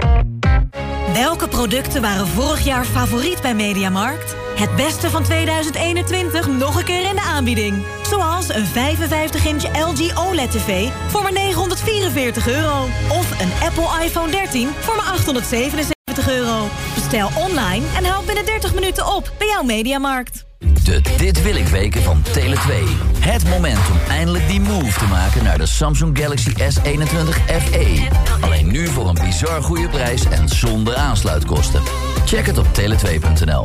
Welke producten waren vorig jaar favoriet bij Mediamarkt? Het beste van 2021 nog een keer in de aanbieding. Zoals een 55-inch LG OLED-tv voor maar €944. Of een Apple iPhone 13 voor maar €877. Bestel online en haal binnen 30 minuten op bij jouw Mediamarkt. De Dit Wil Ik weken van Tele2. Het moment om eindelijk die move te maken naar de Samsung Galaxy S21 FE. Alleen nu voor een bizar goede prijs en zonder aansluitkosten. Check het op tele2.nl.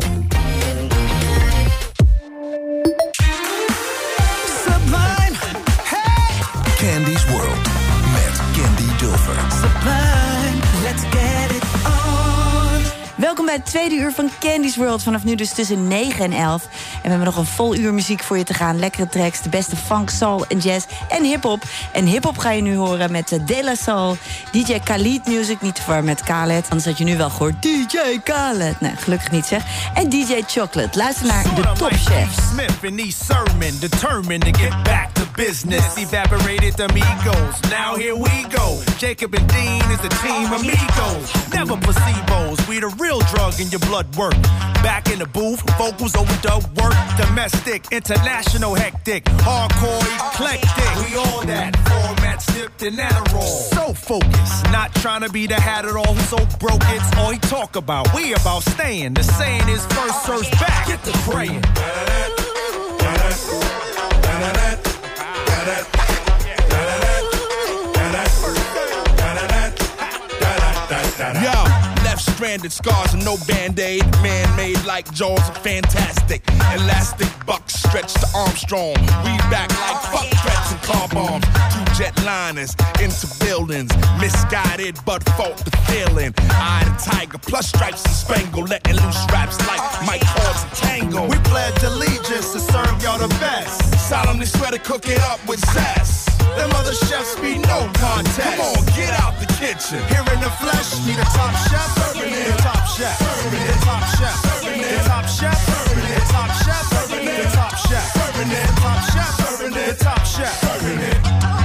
Sublime. Hey! Candy's World met Candy Dulfer. Sublime, let's get it on. Welkom bij het tweede uur van Candy's World. Vanaf nu dus tussen 9 en 11. En we hebben nog een vol uur muziek voor je te gaan. Lekkere tracks, de beste funk, soul en jazz en hiphop. En hiphop ga je nu horen met De La Soul, DJ Khaled Music, niet te ver met Khaled. Anders had je nu wel gehoord DJ Khaled. Nee, gelukkig niet zeg. En DJ Chocolate. Luister naar de Top Chefs. Smith and E. Sermon, determined to get back to business. Evaporated the amigos, now here we go. Jacob and Dean is the team amigos. Never placebos, we the real drug in your blood work. Back in the booth, vocals overdub work, domestic, international, hectic, hardcore, eclectic. We all that, format snipped and roll. So focused, not trying to be the hat at all. Who's so broke, it's all he talk about. We about staying. The saying is first serves back. Get the praying. Yo, left stranded scars and no band-aid. Man-made like jaws are fantastic. Elastic bucks stretch to Armstrong. We back like fuck threats and car bombs. Two jetliners into buildings. Misguided but fought the feeling. Eye the tiger plus stripes and spangle. Letting loose raps like Mike Horns and Tango. We pledge allegiance to serve y'all the best. Solemnly swear to cook it up with zest. Them other chefs be no contest. Come on, get out the kitchen. Here in the flesh, need a top chef. Serving it. The top chef. Serving it. The top chef. Serving it. The top chef. Serving it. The top chef. Serving it. The top chef. Serving it. The top chef. Serving it. The top chef. Serving it.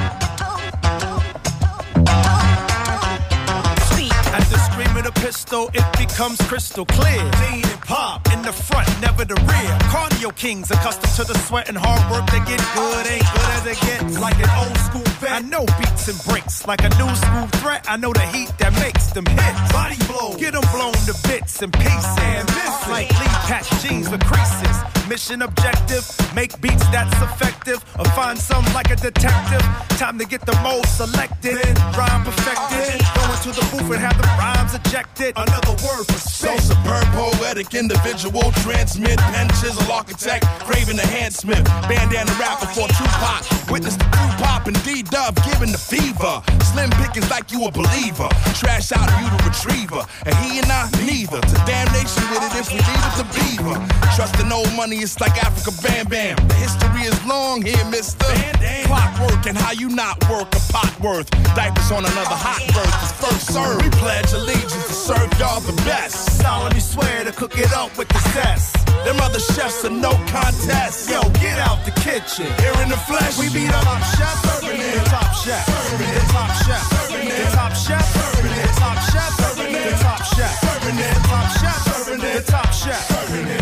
At the scream of the pistol, it becomes crystal clear. Dean and Pop in the front, never the rear. Cardio kings accustomed to the sweat and hard work. They get good, ain't good as it gets. Like an old school vet, I know beats and breaks. Like a new school threat, I know the heat that makes them hits. Body blow, get them blown to bits and pieces. And this like Lee patch jeans with creases. Mission objective, make beats that's effective. Or find some like a detective. Time to get the most selected. Then rhyme perfected. Go into the booth and have the rhymes ejected. Another word for spit. So superb, poetic, individual. Transmit, pen, chisel, architect. Craving the handsmith. Bandana rapper for Tupac. Witness the crew pop and D-Dub giving the fever. Slim pickings like you a believer. Trash out you the retriever. And he and I, neither. To damnation with it if we leave it to beaver. Trusting old money, it's like Africa Bam Bam. The history is long here, mister. Clockwork and how you not work a pot worth. Diapers on another hot birth. It's first serve. We pledge allegiance to serve y'all the best. Solemnly swear to cook it up with the zest. Them other chefs are no contest. Yo, get out the kitchen. Here in the flesh, we be the top chef. Serving it. The top chef. Serving it. The top chef. Serving it. The top chef. Serving it. The top chef. Serving it. The top chef. Serving it. The top chef. Serving it. The top chef. Serving it.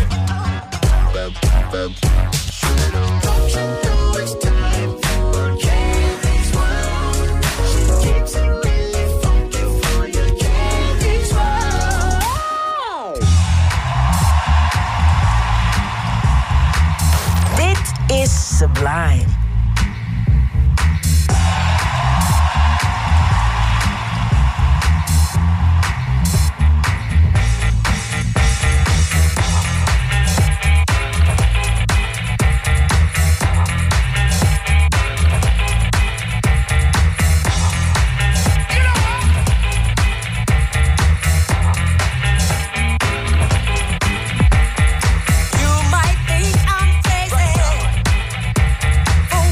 Don't you know it's time for Candy's World? She keeps it really funky for you, Candy's World. Dit is Sublime. You might think I'm crazy.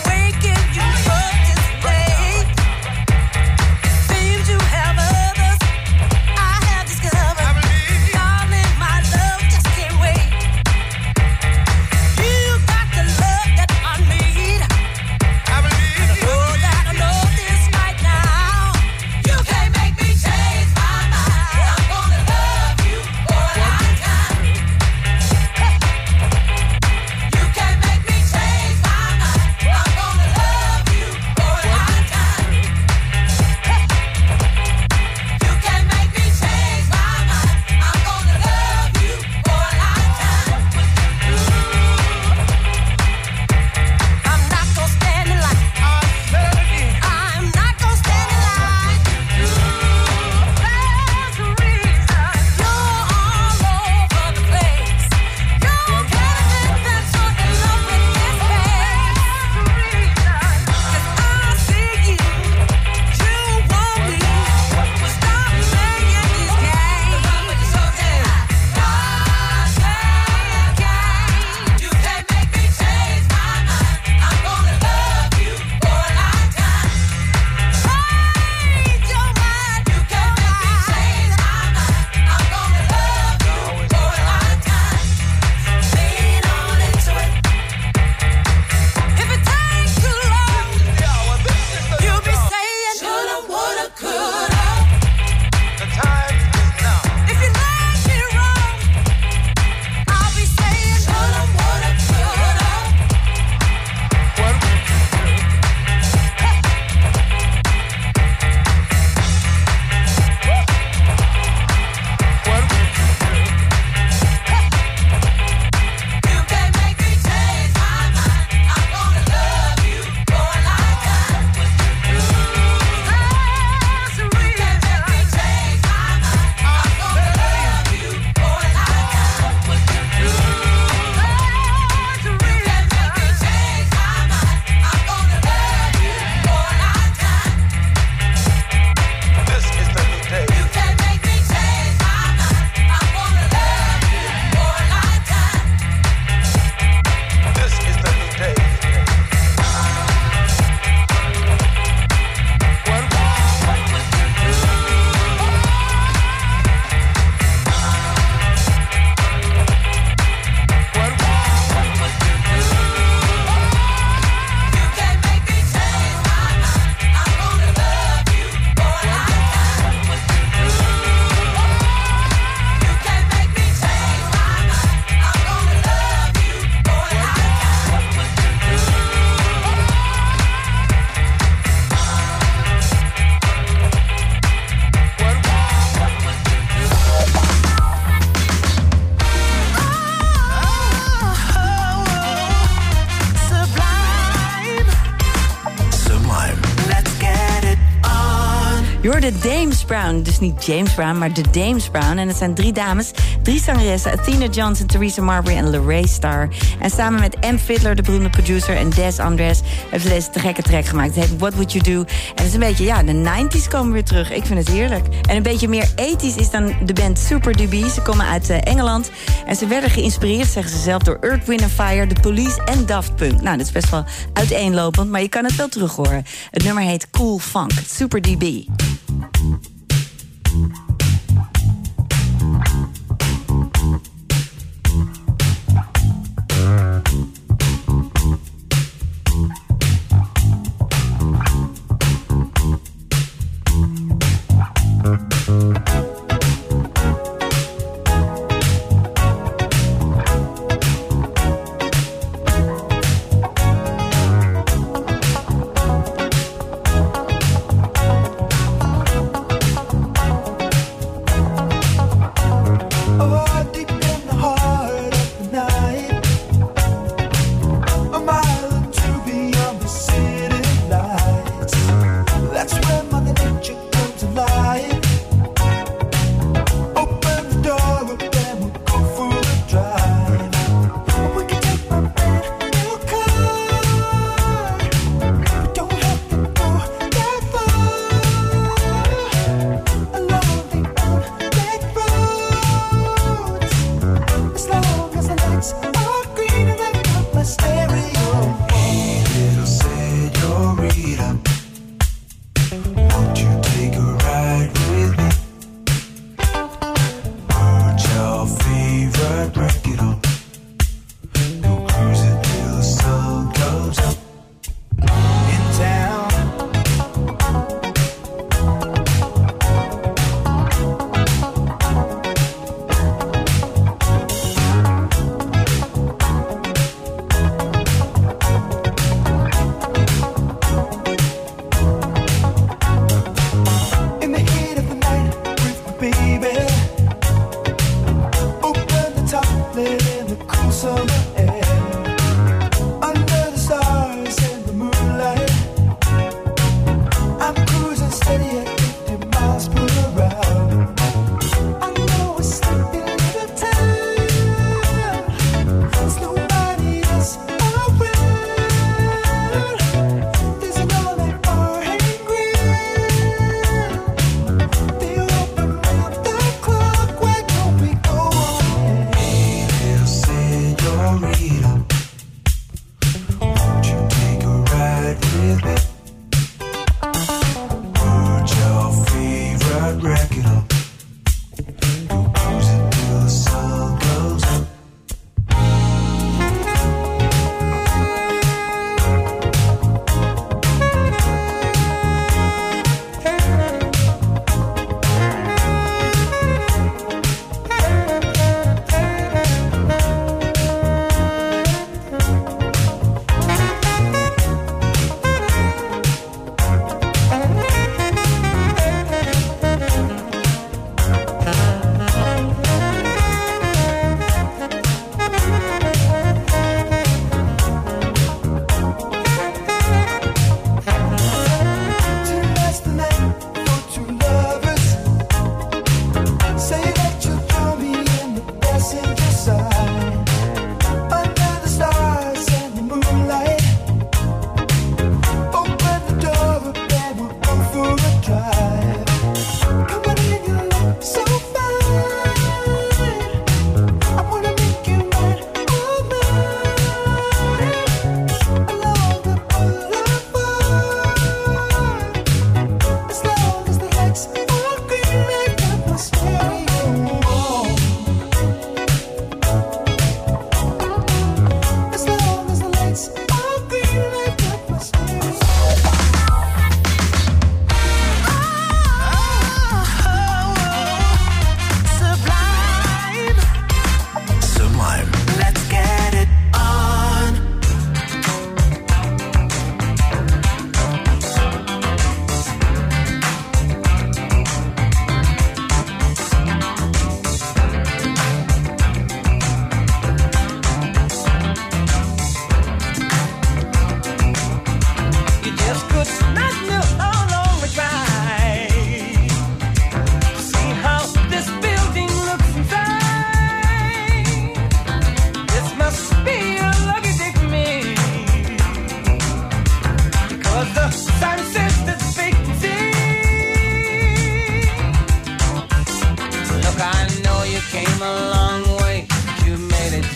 Je hoorde Dames Brown, dus niet James Brown, maar de Dames Brown. En het zijn 3 dames, 3 zangeressen, Athena Johnson, Theresa Marbury en Lorraine Starr. En samen met M. Fiddler, de beroemde producer, en Des Andres hebben ze deze te gekke track gemaakt. Het heet What Would You Do? En het is een beetje, ja, de 90s komen weer terug. Ik vind het heerlijk. En een beetje meer ethisch is dan de band Super Dubi. Ze komen uit Engeland. En ze werden geïnspireerd, zeggen ze zelf, door Earth, Wind & Fire, The Police en Daft Punk. Nou, dat is best wel uiteenlopend, maar je kan het wel terug horen. Het nummer heet Cool Funk, Super Dubi.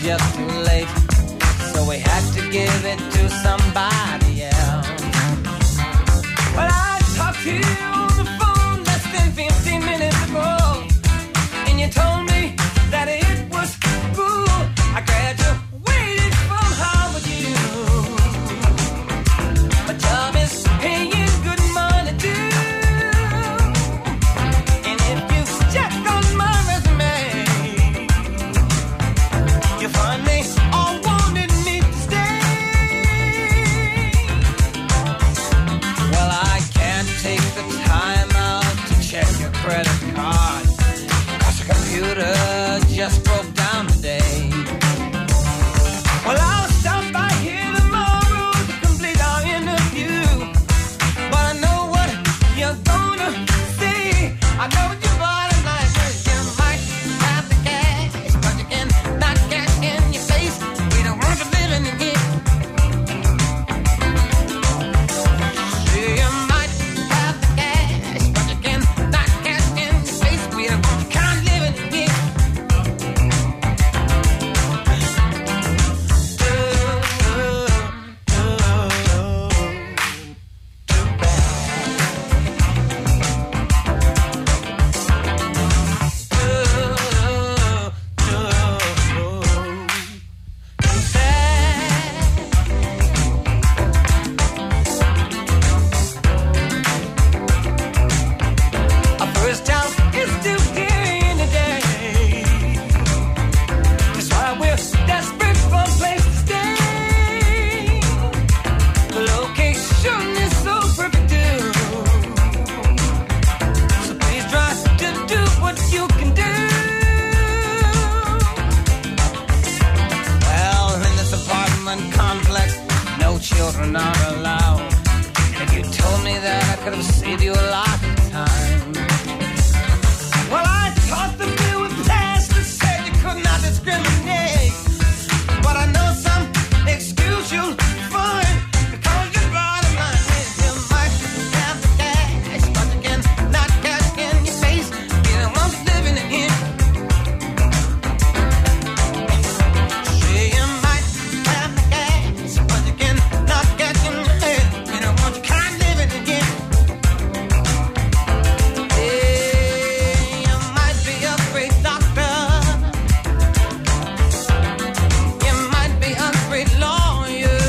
just too late. So we had to give it to somebody else. Well, I talked to you on the phone less than 15 minutes ago, and you told me that it was cool. I graduated from Harvard U. My job is paying good money too. And if you check on my resume, you find they all wanted me to stay. Well, I can't take the time out to check your credit card, 'cause the computer just broke down today. Well, I'll stop by here tomorrow to complete our interview. But I know what you're gonna say. I know what your bottom line is. You might have the cash, but you cannot get in your face. We don't want you living in here. You might have the cash, but you cannot get in your face. We don't want you kind of living in here. Our first house is still here in the day. That's why we're desperate for a place to stay. The location is so perfect too. So please try to do what you can do. Well, in this apartment complex, no children are allowed. And if you told me that, I could have saved you a lot of time. Well, I taught the bill with class that said you could not discriminate. But I know some excuse you'll find, because your bottom line is you might have the cash, but you cannot get in your face. You don't want you living in here. Say you might have the cash, but you cannot get in your head. You don't want you kind of living in here. You might be a great doctor. You might be a great lawyer.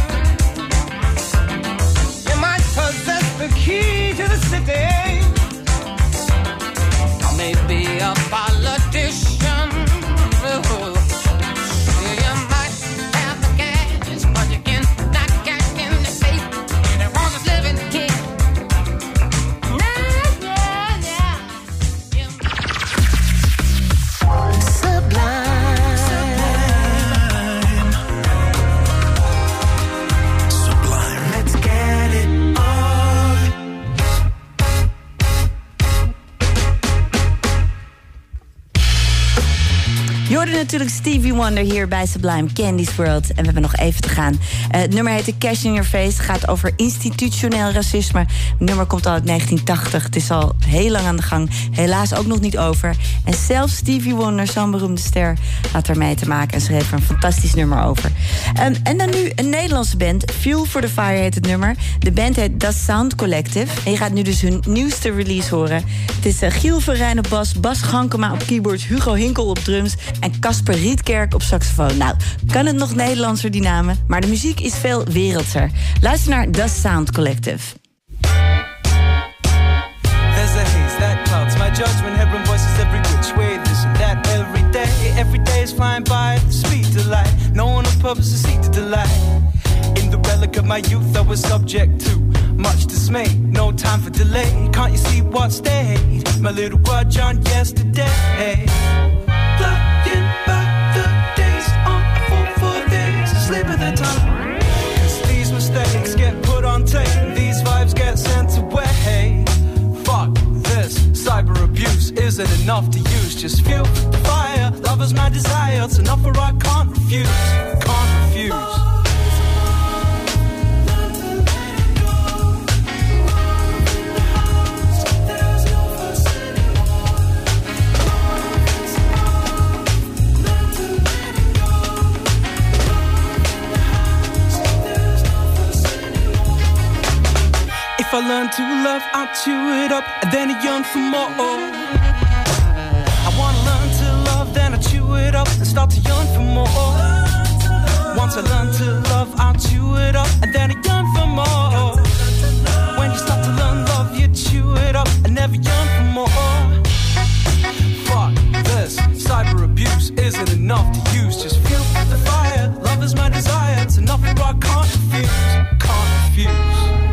You might possess the key to the city. Or maybe a politician. You might have the cash, but you cannot get in the safe. You don't want to live in here. Sublime. Let's get it on. Je hoorde natuurlijk Stevie Wonder hier bij Sublime, Candy's World. En we hebben nog even te gaan. Het nummer heet The Cash in Your Face. Het gaat over institutioneel racisme. Het nummer komt al uit 1980. Het is al heel lang aan de gang. Helaas ook nog niet over. En zelfs Stevie Wonder, zo'n beroemde ster, had ermee te maken en schreef er een fantastisch nummer over. En dan nu een Nederlandse band. Fuel for the Fire heet het nummer. De band heet Das Sound Collective. En je gaat nu dus hun nieuwste release horen. Het is Giel Verrijn op bas, Bas Gankema op keyboards, Hugo Hinkel op drums en Casper Rietkerk op saxofoon. Nou, kan het nog Nederlandser, die namen, maar de muziek is veel wereldser. Luister naar Das Sound Collective. There's a haze that clouds my judgment, hearing voices every which way, this and that every day. Every day is flying by at the speed of light. No one on purpose to seek to delight. In the relic of my youth, I was subject to much dismay. No time for delay. Can't you see what stayed? My little grudge on yesterday. Looking back the days on a full 4 days, slip of the time. 'Cause these mistakes get put on tape. These vibes get sent away. Fuck this, cyber abuse isn't enough to use. Just fuel the fire, love is my desire. It's an offer I can't refuse, can't refuse. I learn to love, I chew it up, and then I yearn for more. I wanna learn to love, then I chew it up, and start to yearn for more. Once I learn to love, I'll chew it up, and then I yearn for more. When you start to learn love, you chew it up, and never yearn for more. Fuck this, cyber abuse isn't enough to use. Just feel the fire, love is my desire. It's enough for I can't refuse, can't refuse.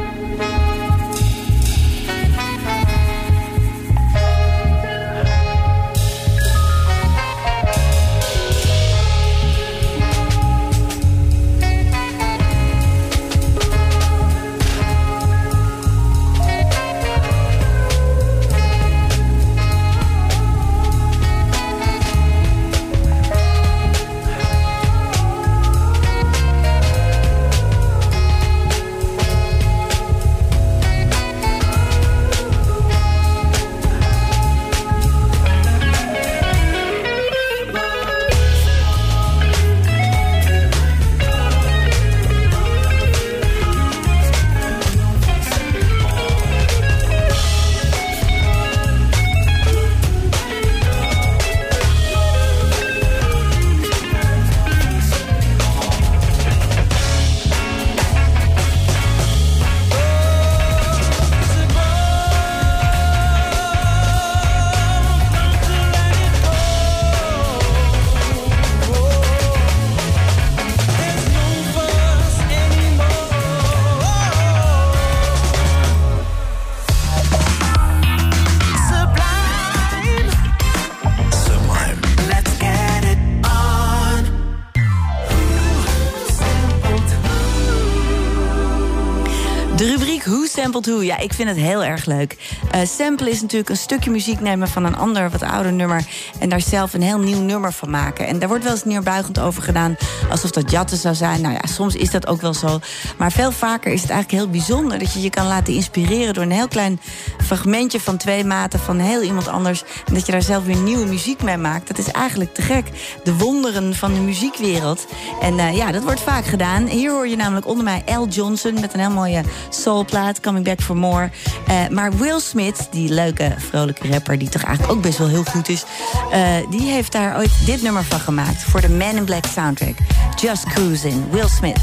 Sampled Who, ja, ik vind het heel erg leuk. Sample is natuurlijk een stukje muziek nemen van een ander, wat ouder nummer, en daar zelf een heel nieuw nummer van maken. En daar wordt wel eens neerbuigend over gedaan, alsof dat jatten zou zijn. Nou ja, soms is dat ook wel zo. Maar veel vaker is het eigenlijk heel bijzonder dat je je kan laten inspireren door een heel klein fragmentje van 2 maten van heel iemand anders, en dat je daar zelf weer nieuwe muziek mee maakt. Dat is eigenlijk te gek. De wonderen van de muziekwereld. En ja, dat wordt vaak gedaan. Hier hoor je namelijk onder mij Al Johnson met een heel mooie soulplaat, Coming Back for More. Maar Will Smith, die leuke, vrolijke rapper, die toch eigenlijk ook best wel heel goed is, die heeft daar ooit dit nummer van gemaakt voor de Man in Black soundtrack. Just Cruising, Will Smith.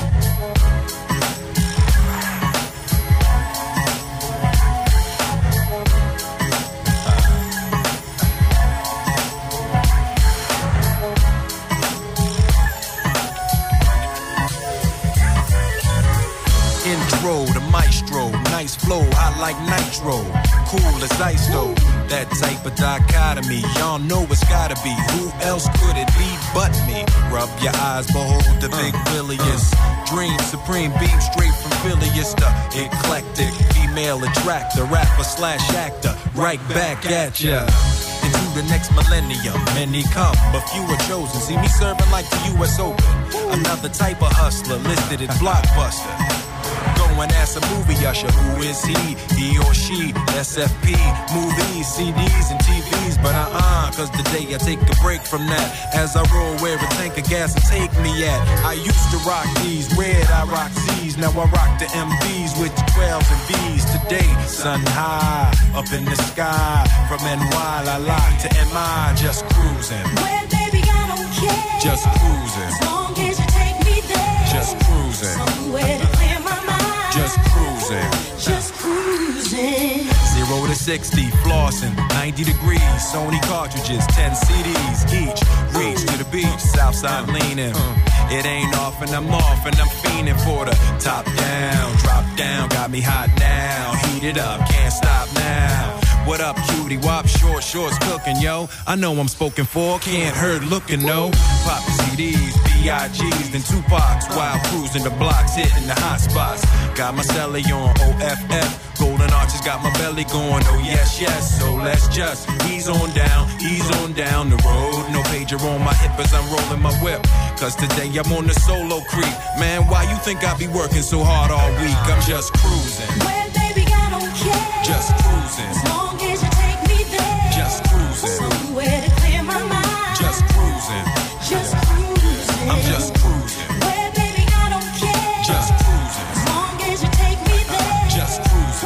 The maestro, nice flow, hot like nitro, cool as ice though. That type of dichotomy, y'all know it's gotta be. Who else could it be but me? Rub your eyes, behold the big Willius. Dream supreme, beam straight from Phileas, the eclectic female attractor, rapper / actor, right back at ya. Into the next millennium, many come, but few are chosen. See me serving like the U.S. Open. Another type of hustler listed as blockbuster. Go and ask a movie usher, who is he? He or she, SFP, movies, CDs, and TVs. But cause today I take a break from that. As I roll where a tank of gas will take me at. I used to rock these, red I rock Z's. Now I rock the MVs with the 12s and V's. Today, sun high, up in the sky. From NY, la la to MI, just cruising. Well, baby, I don't care. Just cruising. As long as you take me there. Just cruising. Somewhere to clear my mind. Just cruising. Just cruising. 0 to 60, flossing, 90 degrees. Sony cartridges, 10 CDs each. Reach to the beach, Southside leaning. It ain't off and I'm off and I'm fiending for the top down, drop down. Got me hot now, heat it up, can't stop now. What up, cutie? Wop, shorts cooking, yo. I know I'm spoken for, can't hurt looking, no. Pop CDs, B.I.G's, then Tupac's. While cruising the blocks, hitting the hot spots. Got my celly on OFF. Golden arches got my belly going, oh yes, yes. So let's just ease on down the road. No pager on my hip as I'm rolling my whip. Cause today I'm on the solo creep. Man, why you think I be working so hard all week? I'm just cruising. Well, baby, I don't care. Just cruising. As long as you take me there. Just cruising. Somewhere to clear my mind. Just cruising. Just cruising. I'm just cruising. Well, baby, I don't care. Just cruising. As long as you take me there. Just cruising.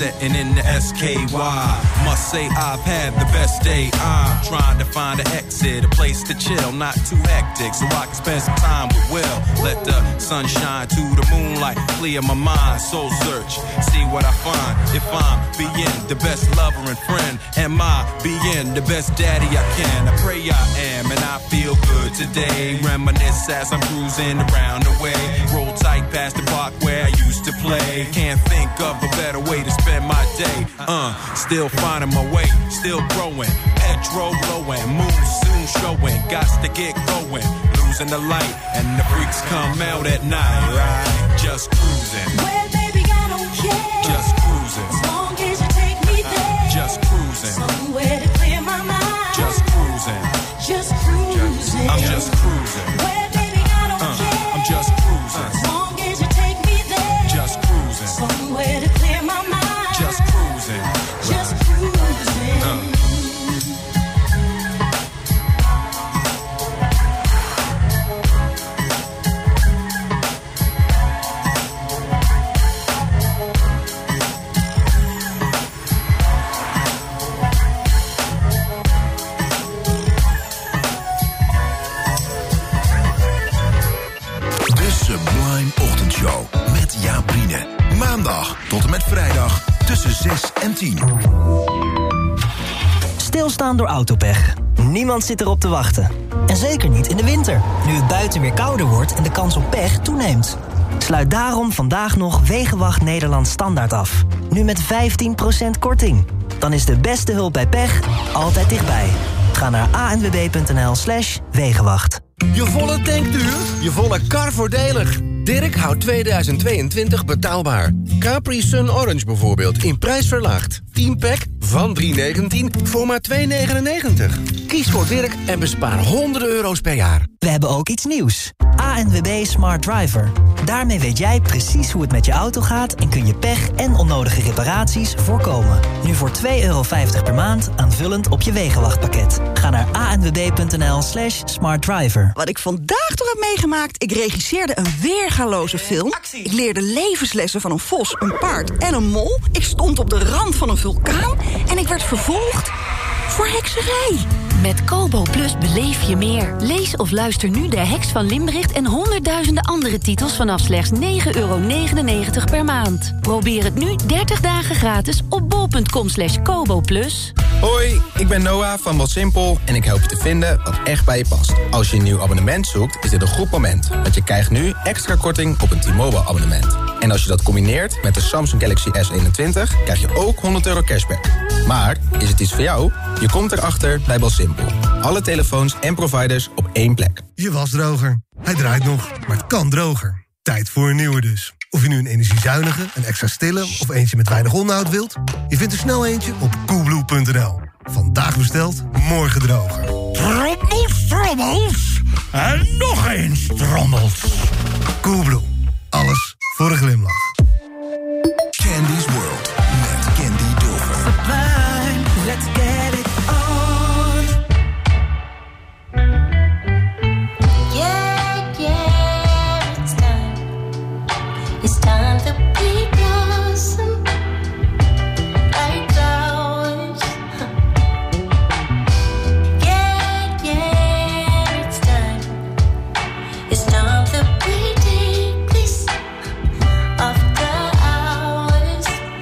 setting in the SKY. Must say I've had the best day. I'm trying to find an exit, a place to chill, not too hectic, so I can spend some time with Will. Let the sunshine to the moonlight clear my mind. Soul search, see what I find. If I'm being the best lover and friend, am I being the best daddy I can? I pray I am, and I feel good today. Reminisce as I'm cruising around the way. Roll tight past the park where I used to play. Can't think of a better way to spend my day. Still finding my way, still growing. Petrol blowing, moon soon showing. Gots to get going, losing the light, and the freaks come out at night. Right? Just cruising. Well, baby, I don't care. Just cruising. As long as you take me there. Just cruising. Somewhere to clear my mind. Just cruising. Just cruising. I'm just cruising. Well, baby, I don't care. I'm just cruising. As long as you take me there. Just cruising. Somewhere to clear my mind. Just cruising. Just cruising. Ochtendshow met Jaap Riene. Maandag tot en met vrijdag tussen 6 en 10. Stilstaan door autopech. Niemand zit erop te wachten. En zeker niet in de winter, nu het buiten weer kouder wordt en de kans op pech toeneemt. Sluit daarom vandaag nog Wegenwacht Nederland Standaard af. Nu met 15% korting. Dan is de beste hulp bij pech altijd dichtbij. Ga naar anwb.nl/Wegenwacht. Je volle tankduur, je volle kar voordelig. Dirk houdt 2022 betaalbaar. Capri Sun Orange bijvoorbeeld, in prijs verlaagd. 10-pack van $3,19 voor maar $2,99. Kies voor Dirk en bespaar honderden euro's per jaar. We hebben ook iets nieuws. ANWB Smart Driver. Daarmee weet jij precies hoe het met je auto gaat en kun je pech en onnodige reparaties voorkomen. Nu voor €2,50 per maand aanvullend op je Wegenwachtpakket. Ga naar anwb.nl/smartdriver. Wat ik vandaag toch heb meegemaakt, ik regisseerde een weergaloze film. Ik leerde levenslessen van een vos, een paard en een mol. Ik stond op de rand van een vulkaan en ik werd vervolgd voor hekserij. Met Kobo Plus beleef je meer. Lees of luister nu De Heks van Limbricht en honderdduizenden andere titels vanaf slechts €9,99 per maand. Probeer het nu 30 dagen gratis op bol.com/Kobo Plus. Hoi, ik ben Noah van Wat Simpel en ik help je te vinden wat echt bij je past. Als je een nieuw abonnement zoekt, is dit een goed moment. Want je krijgt nu extra korting op een T-Mobile abonnement. En als je dat combineert met de Samsung Galaxy S21, krijg je ook €100 cashback. Maar, is het iets voor jou? Je komt erachter bij Bel Simpel. Alle telefoons en providers op één plek. Je wasdroger. Hij draait nog, maar het kan droger. Tijd voor een nieuwe dus. Of je nu een energiezuinige, een extra stille of eentje met weinig onderhoud wilt, je vindt er snel eentje op coolblue.nl. Vandaag besteld, morgen droger. Trommels, trommels. En nog eens trommels. Coolblue. Alles voor een glimlach. Candy's World met Candy Dulfer. Sublime, let's get it on. Yeah, it's time. It's time to be blossom like flowers. Yeah, it's time. It's time to be take this of the hours.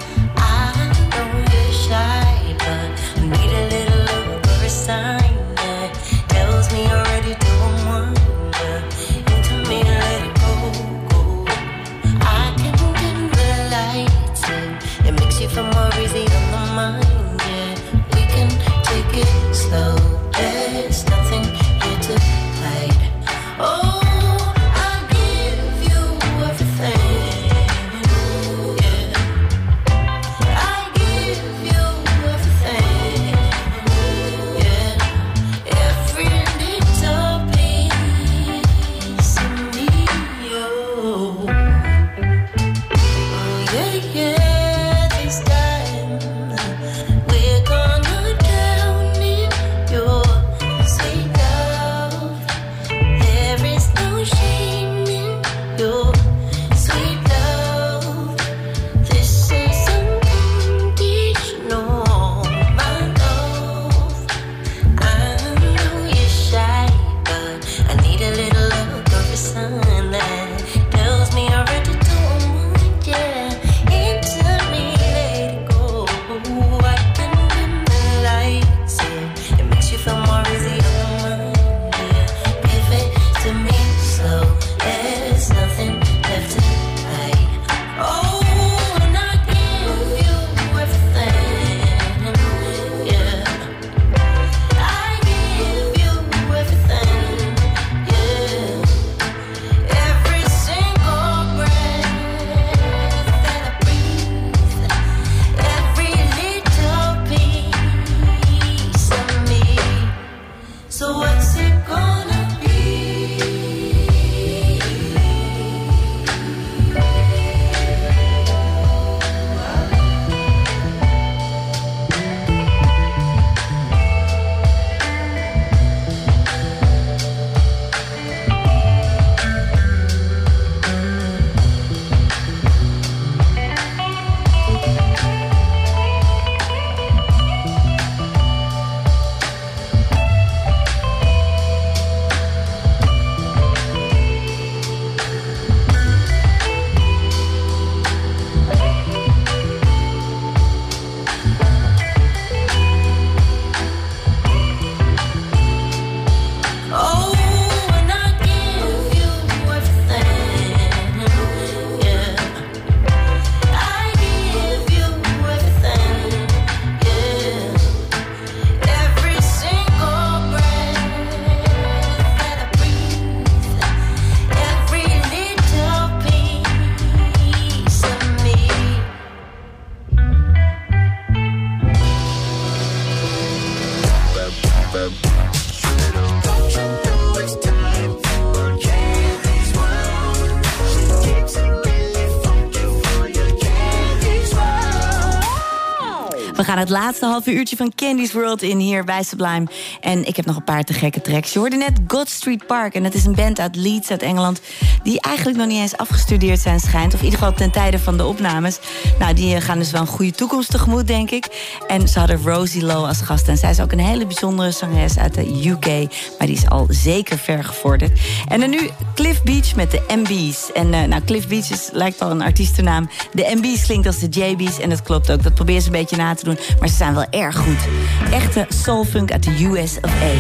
We gaan het laatste halve uurtje van Candy's World in hier bij Sublime. En ik heb nog een paar te gekke tracks. Je hoorde net God Street Park. En dat is een band uit Leeds, uit Engeland, die eigenlijk nog niet eens afgestudeerd zijn, schijnt. Of in ieder geval ten tijde van de opnames. Nou, die gaan dus wel een goede toekomst tegemoet, denk ik. En ze hadden Rosie Lowe als gast. En zij is ook een hele bijzondere zangeres uit de UK. Maar die is al zeker ver gevorderd. En dan nu Cliff Beach met de MB's. En Cliff Beach lijkt al een artiestennaam. De MB's klinkt als de JB's. En dat klopt ook. Dat probeer ze een beetje na te doen. Maar ze zijn wel erg goed. Echte soulfunk uit de US of A.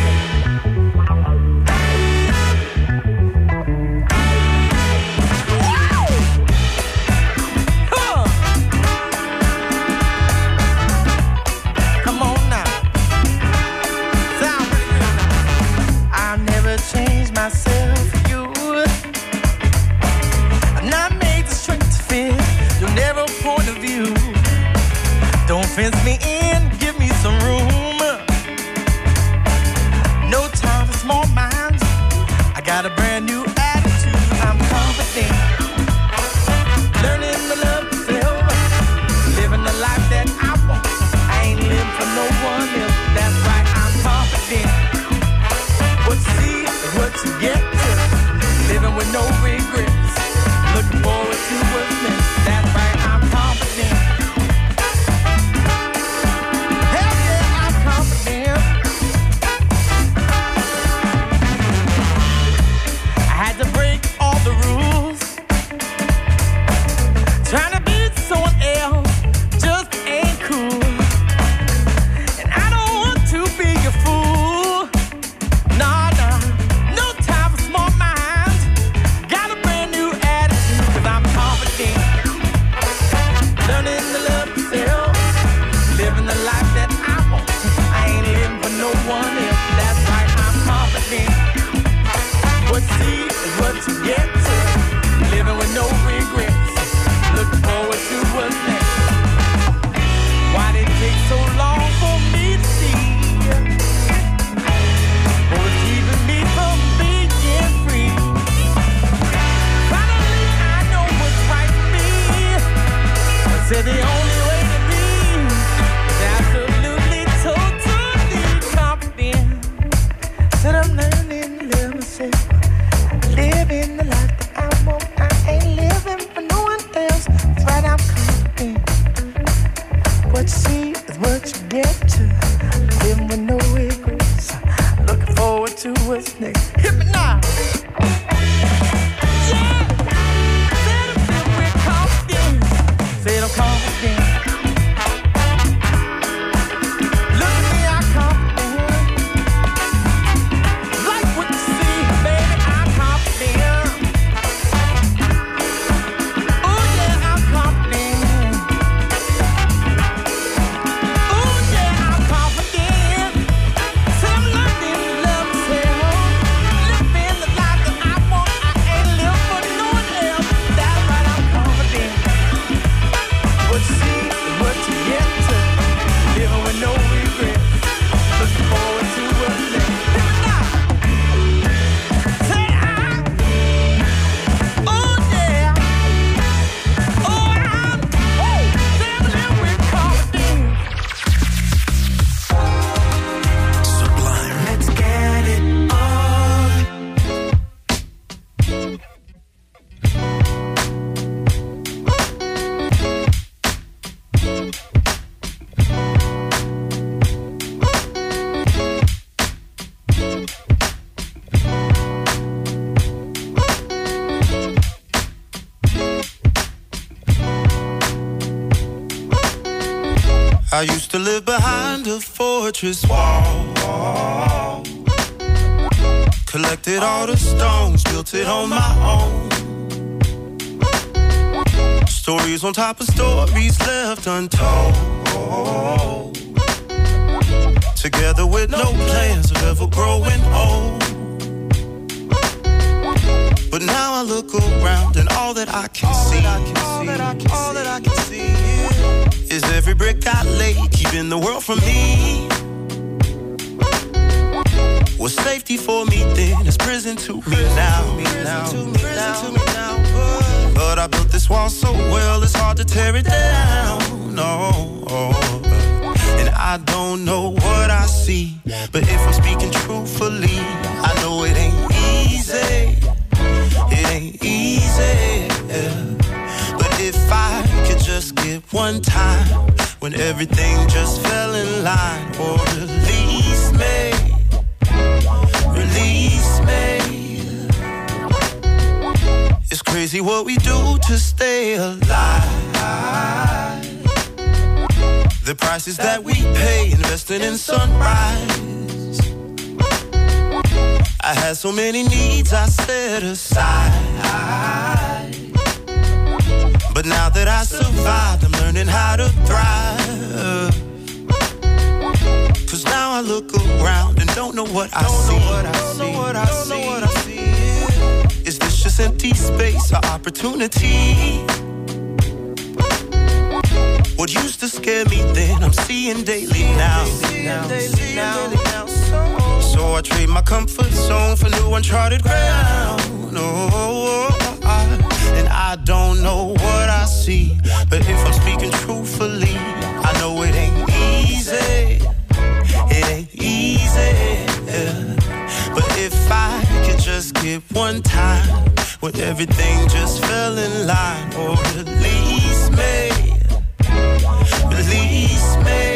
Don't fence me in, give me some room. No time for small minds. I got a brand new attitude. I'm confident. Learning to love myself. Living the life that I want. I ain't living for no one else. That's right, I'm confident. What you see is what you get to. Living with no regrets. Looking forward to what's next. That's right, I'm confident. I used to live behind a fortress wall. Collected all the stones, built it on my own. Stories on top of stories left untold. Together with no plans of ever growing old. But now I look around and all that I can see is every brick I laid, keeping the world from me. Was safety for me then, it's prison to me now. But I built this wall so well, it's hard to tear it down. No, and I don't know what I see, but if I'm speaking truthfully, I know it ain't easy. It ain't easy. But if I could just get one time when everything just fell in line, or release me. Release me. It's crazy what we do to stay alive. The prices that we pay investing in sunrise. I had so many needs I set aside, but now that I survived, I'm learning how to thrive. Cause now I look around and don't know what I see. Is this just empty space or opportunity? What used to scare me then, I'm seeing daily now. So I trade my comfort zone for new uncharted ground. And I don't know what I see, but if I'm speaking truthfully, I know it ain't easy. It ain't easy, but if I could just get one time when everything just fell in line, or release me, release me.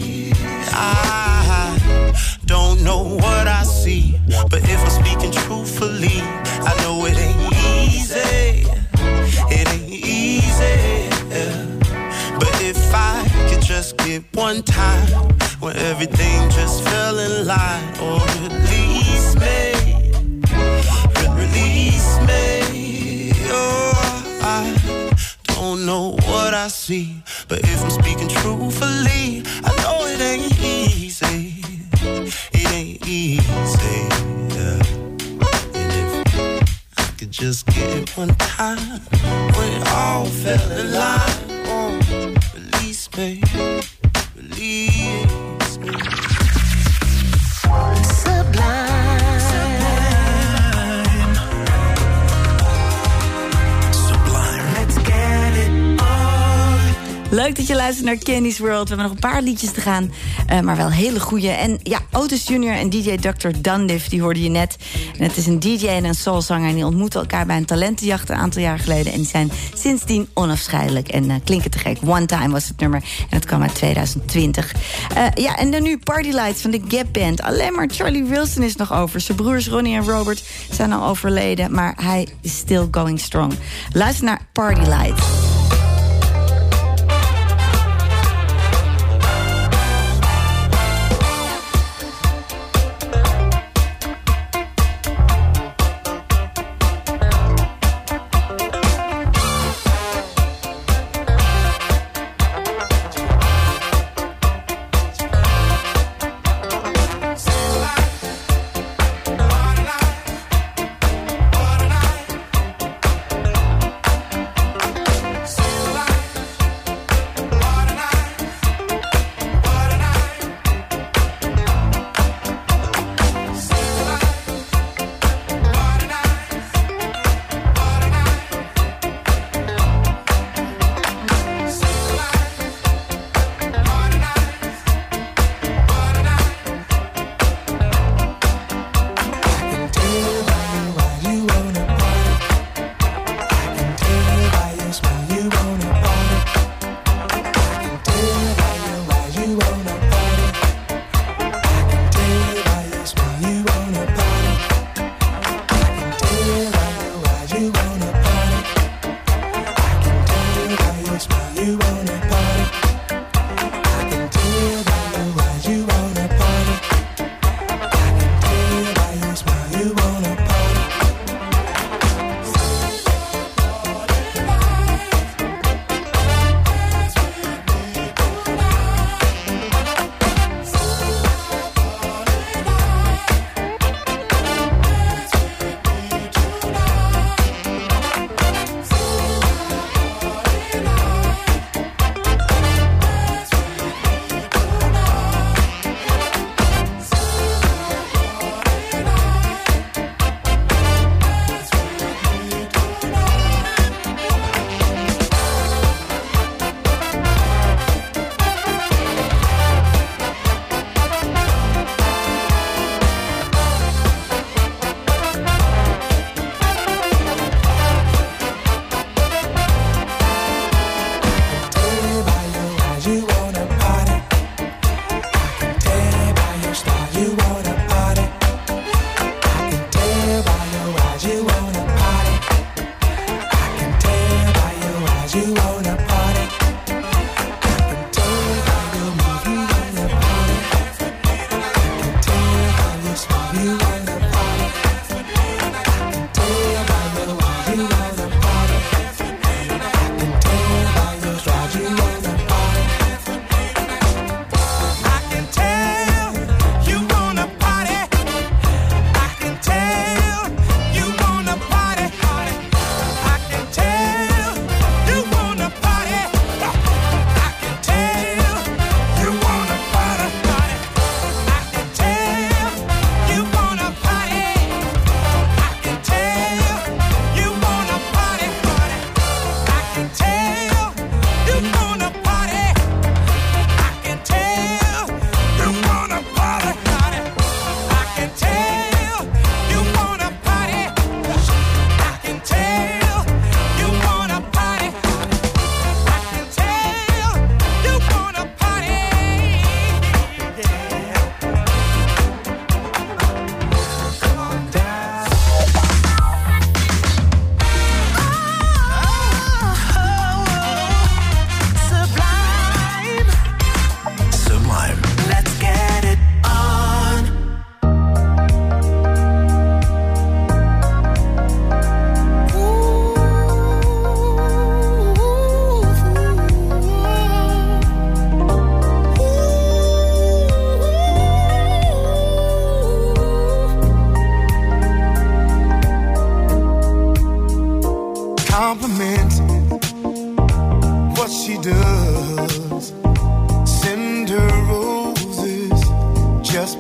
I don't know what I see, but if I'm speaking truthfully, I know it ain't easy. It ain't easy, but if I could just get one time when everything just fell in line, or release me, release me. Oh, I don't know what I see, but if I'm speaking truthfully, I know it ain't easy. It ain't easy, yeah. And if I could just get one time when it all fell in line, oh, release me, release me. Sublime. Sublime. Let's get it on. Leuk dat je luistert naar Candy's World. We hebben nog een paar liedjes te gaan, maar wel hele goeie. En ja, Otis Jr. en DJ Dr. Dundiff, die hoorde je net. En het is een DJ en een soulzanger en die ontmoetten elkaar bij een talentenjacht een aantal jaar geleden. En die zijn sindsdien onafscheidelijk en klinken te gek. One Time was het nummer en het kwam uit 2020. Ja, en dan nu Party Lights van de Gap Band. Alleen maar Charlie Wilson is nog over. Zijn broers Ronnie en Robert zijn al overleden, maar hij is still going strong. Luister naar Party Lights.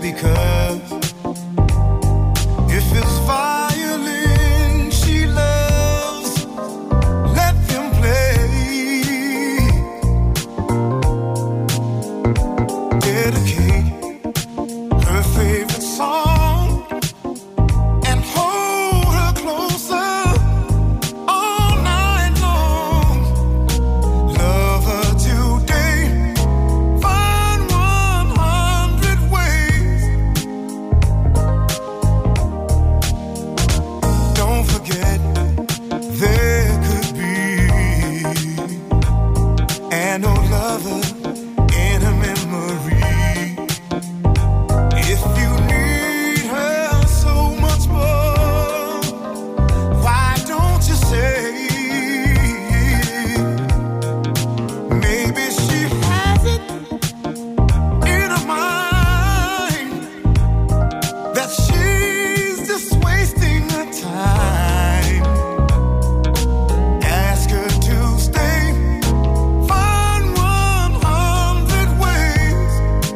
because if it's violin she loves, let them play. Dedicate her favorite song and hold her closer all night long. Love her today, find 100 ways. Don't forget there could be an old lover in her memory. If you need her so much more, why don't you say maybe she has it in her mind that she's just wasting her time. Ask her to stay, find 100 ways.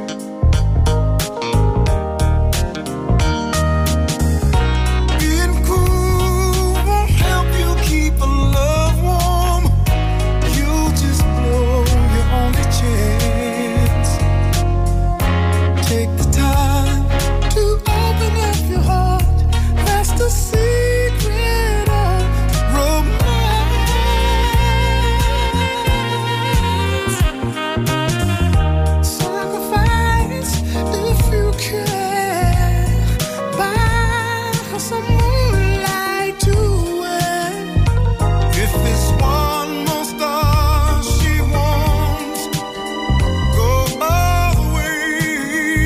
Being cool won't help you keep a love warm. You just blow your only chance. Take the time to open up your heart. That's the secret of romance. Sacrifice if you can. Buy her some moonlight to wear. If it's one more star she wants, go all the way.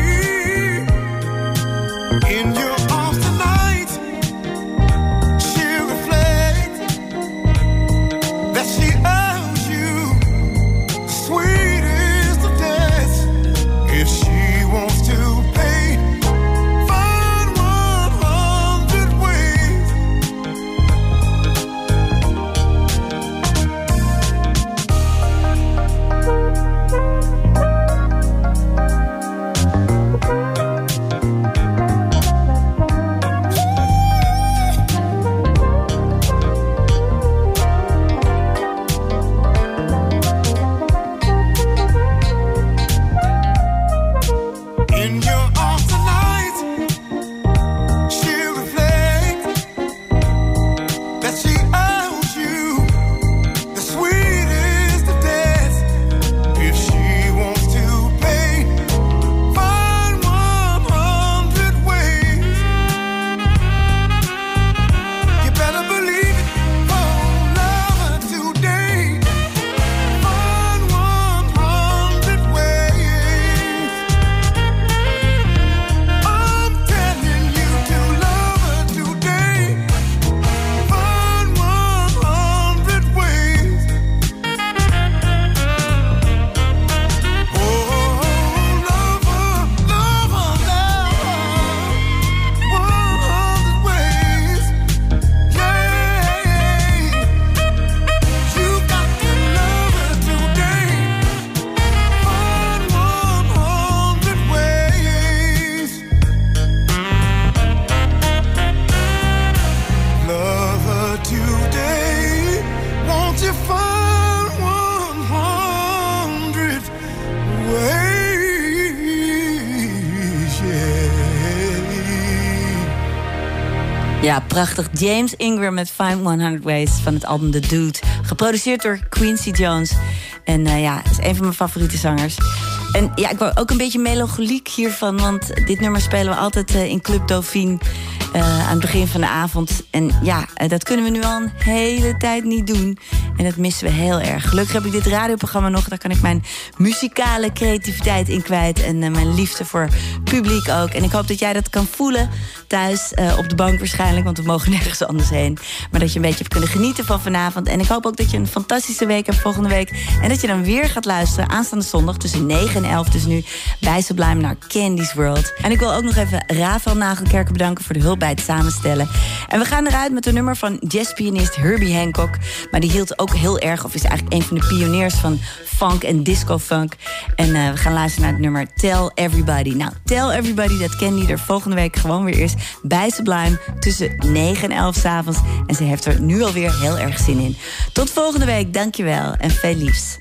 In your arms tonight, she'll reflect that she owes you the sweetest of deaths. If she wants to pay, find 100 ways. In your arms tonight, she'll reflect that she owes you the sweetest of deaths. If she wants to pay, find 100 ways. You better believe it, oh, love her today. Find 100 ways. I'm telling you to love her today. Find 100 ways. Oh, love her, love her, love her. 100 ways. Yeah. You got to love her today. Find 100 ways. Love her today. Won't you find 100 ways? Yeah. Ja, prachtig. James Ingram met Find 100 Ways van het album The Dude. Geproduceerd door Quincy Jones. En ja, is een van mijn favoriete zangers. En ja, ik word ook een beetje melancholiek hiervan. Want dit nummer spelen we altijd in Club Dauphine. Aan het begin van de avond. En ja, dat kunnen we nu al een hele tijd niet doen. En dat missen we heel erg. Gelukkig heb ik dit radioprogramma nog. Daar kan ik mijn muzikale creativiteit in kwijt. En mijn liefde voor publiek ook. En ik hoop dat jij dat kan voelen thuis. Op de bank waarschijnlijk, want we mogen nergens anders heen. Maar dat je een beetje hebt kunnen genieten van vanavond. En ik hoop ook dat je een fantastische week hebt volgende week. En dat je dan weer gaat luisteren aanstaande zondag tussen 9 9 en 11 dus nu bij Sublime naar Candy's World. En ik wil ook nog even Rafael Nagelkerken bedanken voor de hulp bij het samenstellen. En we gaan eruit met een nummer van jazzpianist Herbie Hancock. Maar die hield ook heel erg, of is eigenlijk een van de pioniers van funk en disco-funk. En we gaan luisteren naar het nummer Tell Everybody. Nou, Tell Everybody, dat Candy er volgende week gewoon weer is bij Sublime tussen 9 en 11 s'avonds. En ze heeft er nu alweer heel erg zin in. Tot volgende week, dankjewel en veel liefs.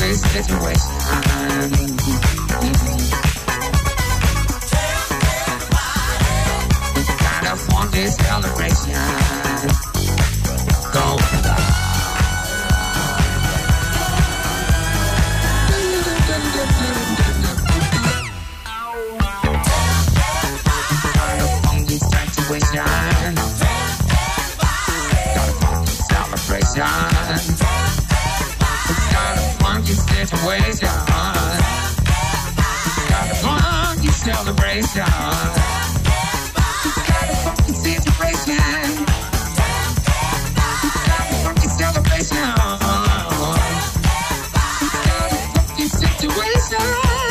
funky situation. Kind of funky celebration. Go. Celebration. Got a funky celebration. It's got a funky situation. Got a funky celebration. It's got a funky situation. It's got a funky celebration. It's got a funky situation.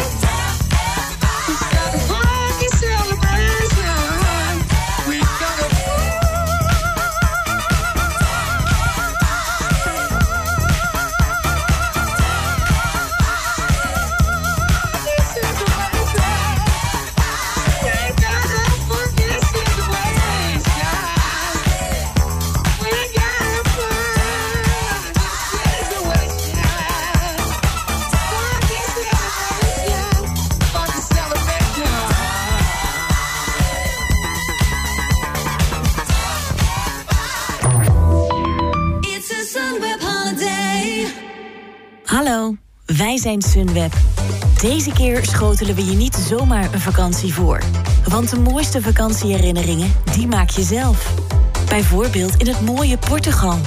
It's got a funky celebration. We got a Hallo, wij zijn Sunweb. Deze keer schotelen we je niet zomaar een vakantie voor. Want de mooiste vakantieherinneringen, die maak je zelf. Bijvoorbeeld in het mooie Portugal.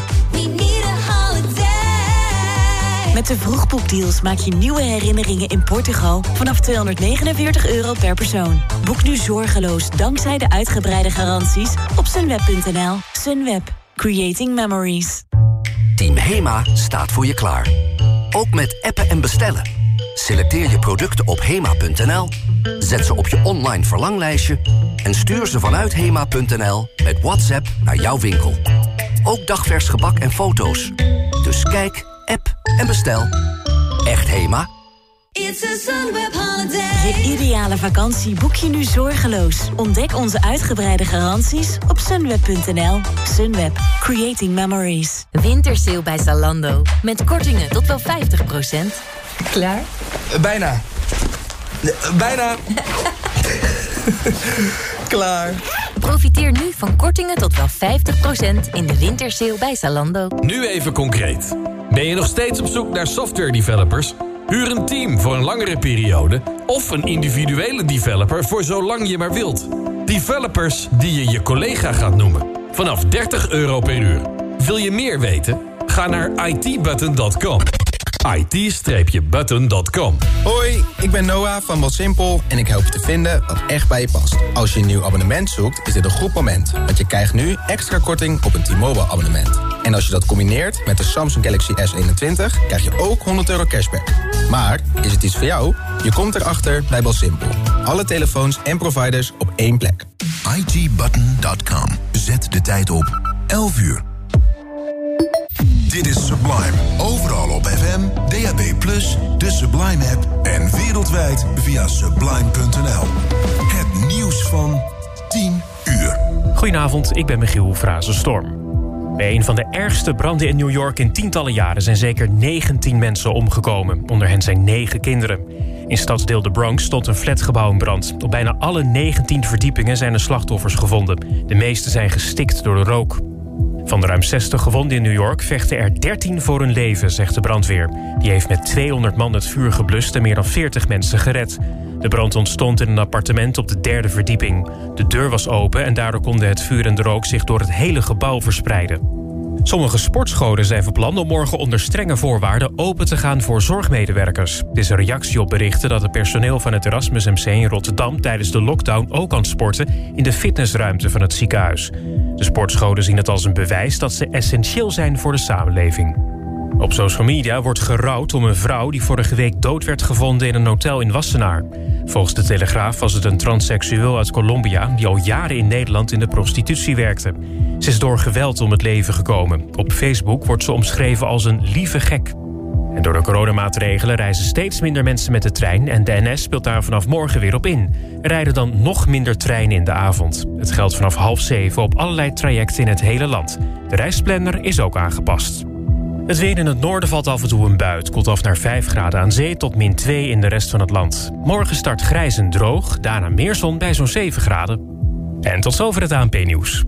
Met de vroegboekdeals maak je nieuwe herinneringen in Portugal vanaf €249 per persoon. Boek nu zorgeloos dankzij de uitgebreide garanties op sunweb.nl. Sunweb. Creating memories. Team HEMA staat voor je klaar. Ook met appen en bestellen. Selecteer je producten op HEMA.nl, zet ze op je online verlanglijstje en stuur ze vanuit HEMA.nl met WhatsApp naar jouw winkel. Ook dagvers gebak en foto's. Dus kijk, app en bestel. Echt HEMA? It's a Sunweb holiday. Je ideale vakantie boek je nu zorgeloos. Ontdek onze uitgebreide garanties op sunweb.nl. Sunweb. Creating memories. Wintersale bij Zalando. Met kortingen tot wel 50%. Klaar? Bijna. Bijna. Klaar. Profiteer nu van kortingen tot wel 50% in de wintersale bij Zalando. Nu even concreet. Ben je nog steeds op zoek naar software developers? Huur een team voor een langere periode of een individuele developer voor zolang je maar wilt. Developers die je je collega gaat noemen. Vanaf €30 per uur. Wil je meer weten? Ga naar itbutton.com. it-button.com. Hoi, ik ben Noah van Welsimpel en ik help je te vinden wat echt bij je past. Als je een nieuw abonnement zoekt, is dit een goed moment. Want je krijgt nu extra korting op een T-Mobile abonnement. En als je dat combineert met de Samsung Galaxy S21, krijg je ook €100 cashback. Maar, is het iets voor jou? Je komt erachter bij Welsimpel. Alle telefoons en providers op één plek. itbutton.com. Zet de tijd op 11 uur. Dit is Sublime. Overal op FM, DAB+, de Sublime app en wereldwijd via sublime.nl. Het nieuws van 10 uur. Goedenavond, ik ben Michiel Frazenstorm. Bij een van de ergste branden in New York in tientallen jaren zijn zeker 19 mensen omgekomen. Onder hen zijn 9 kinderen. In stadsdeel de Bronx stond een flatgebouw in brand. Op bijna alle 19 verdiepingen zijn er slachtoffers gevonden. De meeste zijn gestikt door de rook. Van de ruim 60 gewonden in New York vechten er 13 voor hun leven, zegt de brandweer. Die heeft met 200 man het vuur geblust en meer dan 40 mensen gered. De brand ontstond in een appartement op de 3e verdieping. De deur was open en daardoor konden het vuur en de rook zich door het hele gebouw verspreiden. Sommige sportscholen zijn van plan om morgen onder strenge voorwaarden open te gaan voor zorgmedewerkers. Het is een reactie op berichten dat het personeel van het Erasmus MC in Rotterdam tijdens de lockdown ook kan sporten in de fitnessruimte van het ziekenhuis. De sportscholen zien het als een bewijs dat ze essentieel zijn voor de samenleving. Op social media wordt gerouwd om een vrouw die vorige week dood werd gevonden in een hotel in Wassenaar. Volgens de Telegraaf was het een transseksueel uit Colombia die al jaren in Nederland in de prostitutie werkte. Ze is door geweld om het leven gekomen. Op Facebook wordt ze omschreven als een lieve gek. En door de coronamaatregelen reizen steeds minder mensen met de trein en de NS speelt daar vanaf morgen weer op in. Er rijden dan nog minder treinen in de avond. Het geldt vanaf 6:30 op allerlei trajecten in het hele land. De reisplanner is ook aangepast. Het weer in het noorden valt af en toe een bui. Het koelt af naar 5 graden aan zee tot -2 in de rest van het land. Morgen start grijs en droog, daarna meer zon bij zo'n 7 graden. En tot zover het ANP-nieuws.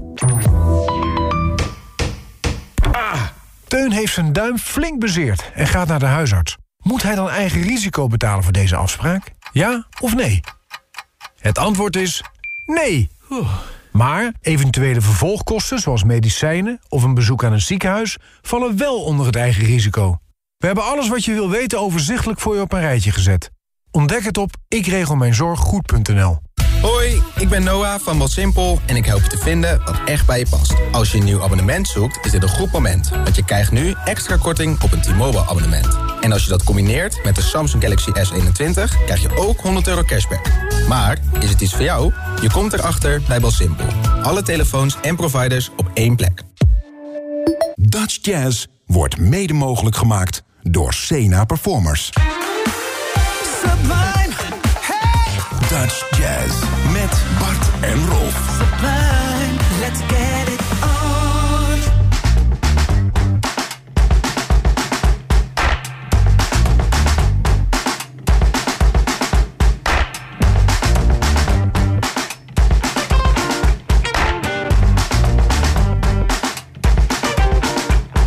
Teun heeft zijn duim flink bezeerd en gaat naar de huisarts. Moet hij dan eigen risico betalen voor deze afspraak? Ja of nee? Het antwoord is nee. Maar eventuele vervolgkosten zoals medicijnen of een bezoek aan een ziekenhuis vallen wel onder het eigen risico. We hebben alles wat je wil weten overzichtelijk voor je op een rijtje gezet. Ontdek het op ikregelmijnzorggoed.nl. Hoi, ik ben Noah van Wat Simpel en ik help je te vinden wat echt bij je past. Als je een nieuw abonnement zoekt, is dit een goed moment. Want je krijgt nu extra korting op een T-Mobile abonnement. En als je dat combineert met de Samsung Galaxy S21, krijg je ook €100 cashback. Maar, is het iets voor jou? Je komt erachter bij Wat Simpel. Alle telefoons en providers op één plek. Dutch Jazz wordt mede mogelijk gemaakt door Sena Performers. Sublime, hey! Dutch Jazz met Bart en Rolf. Sublime, let's get it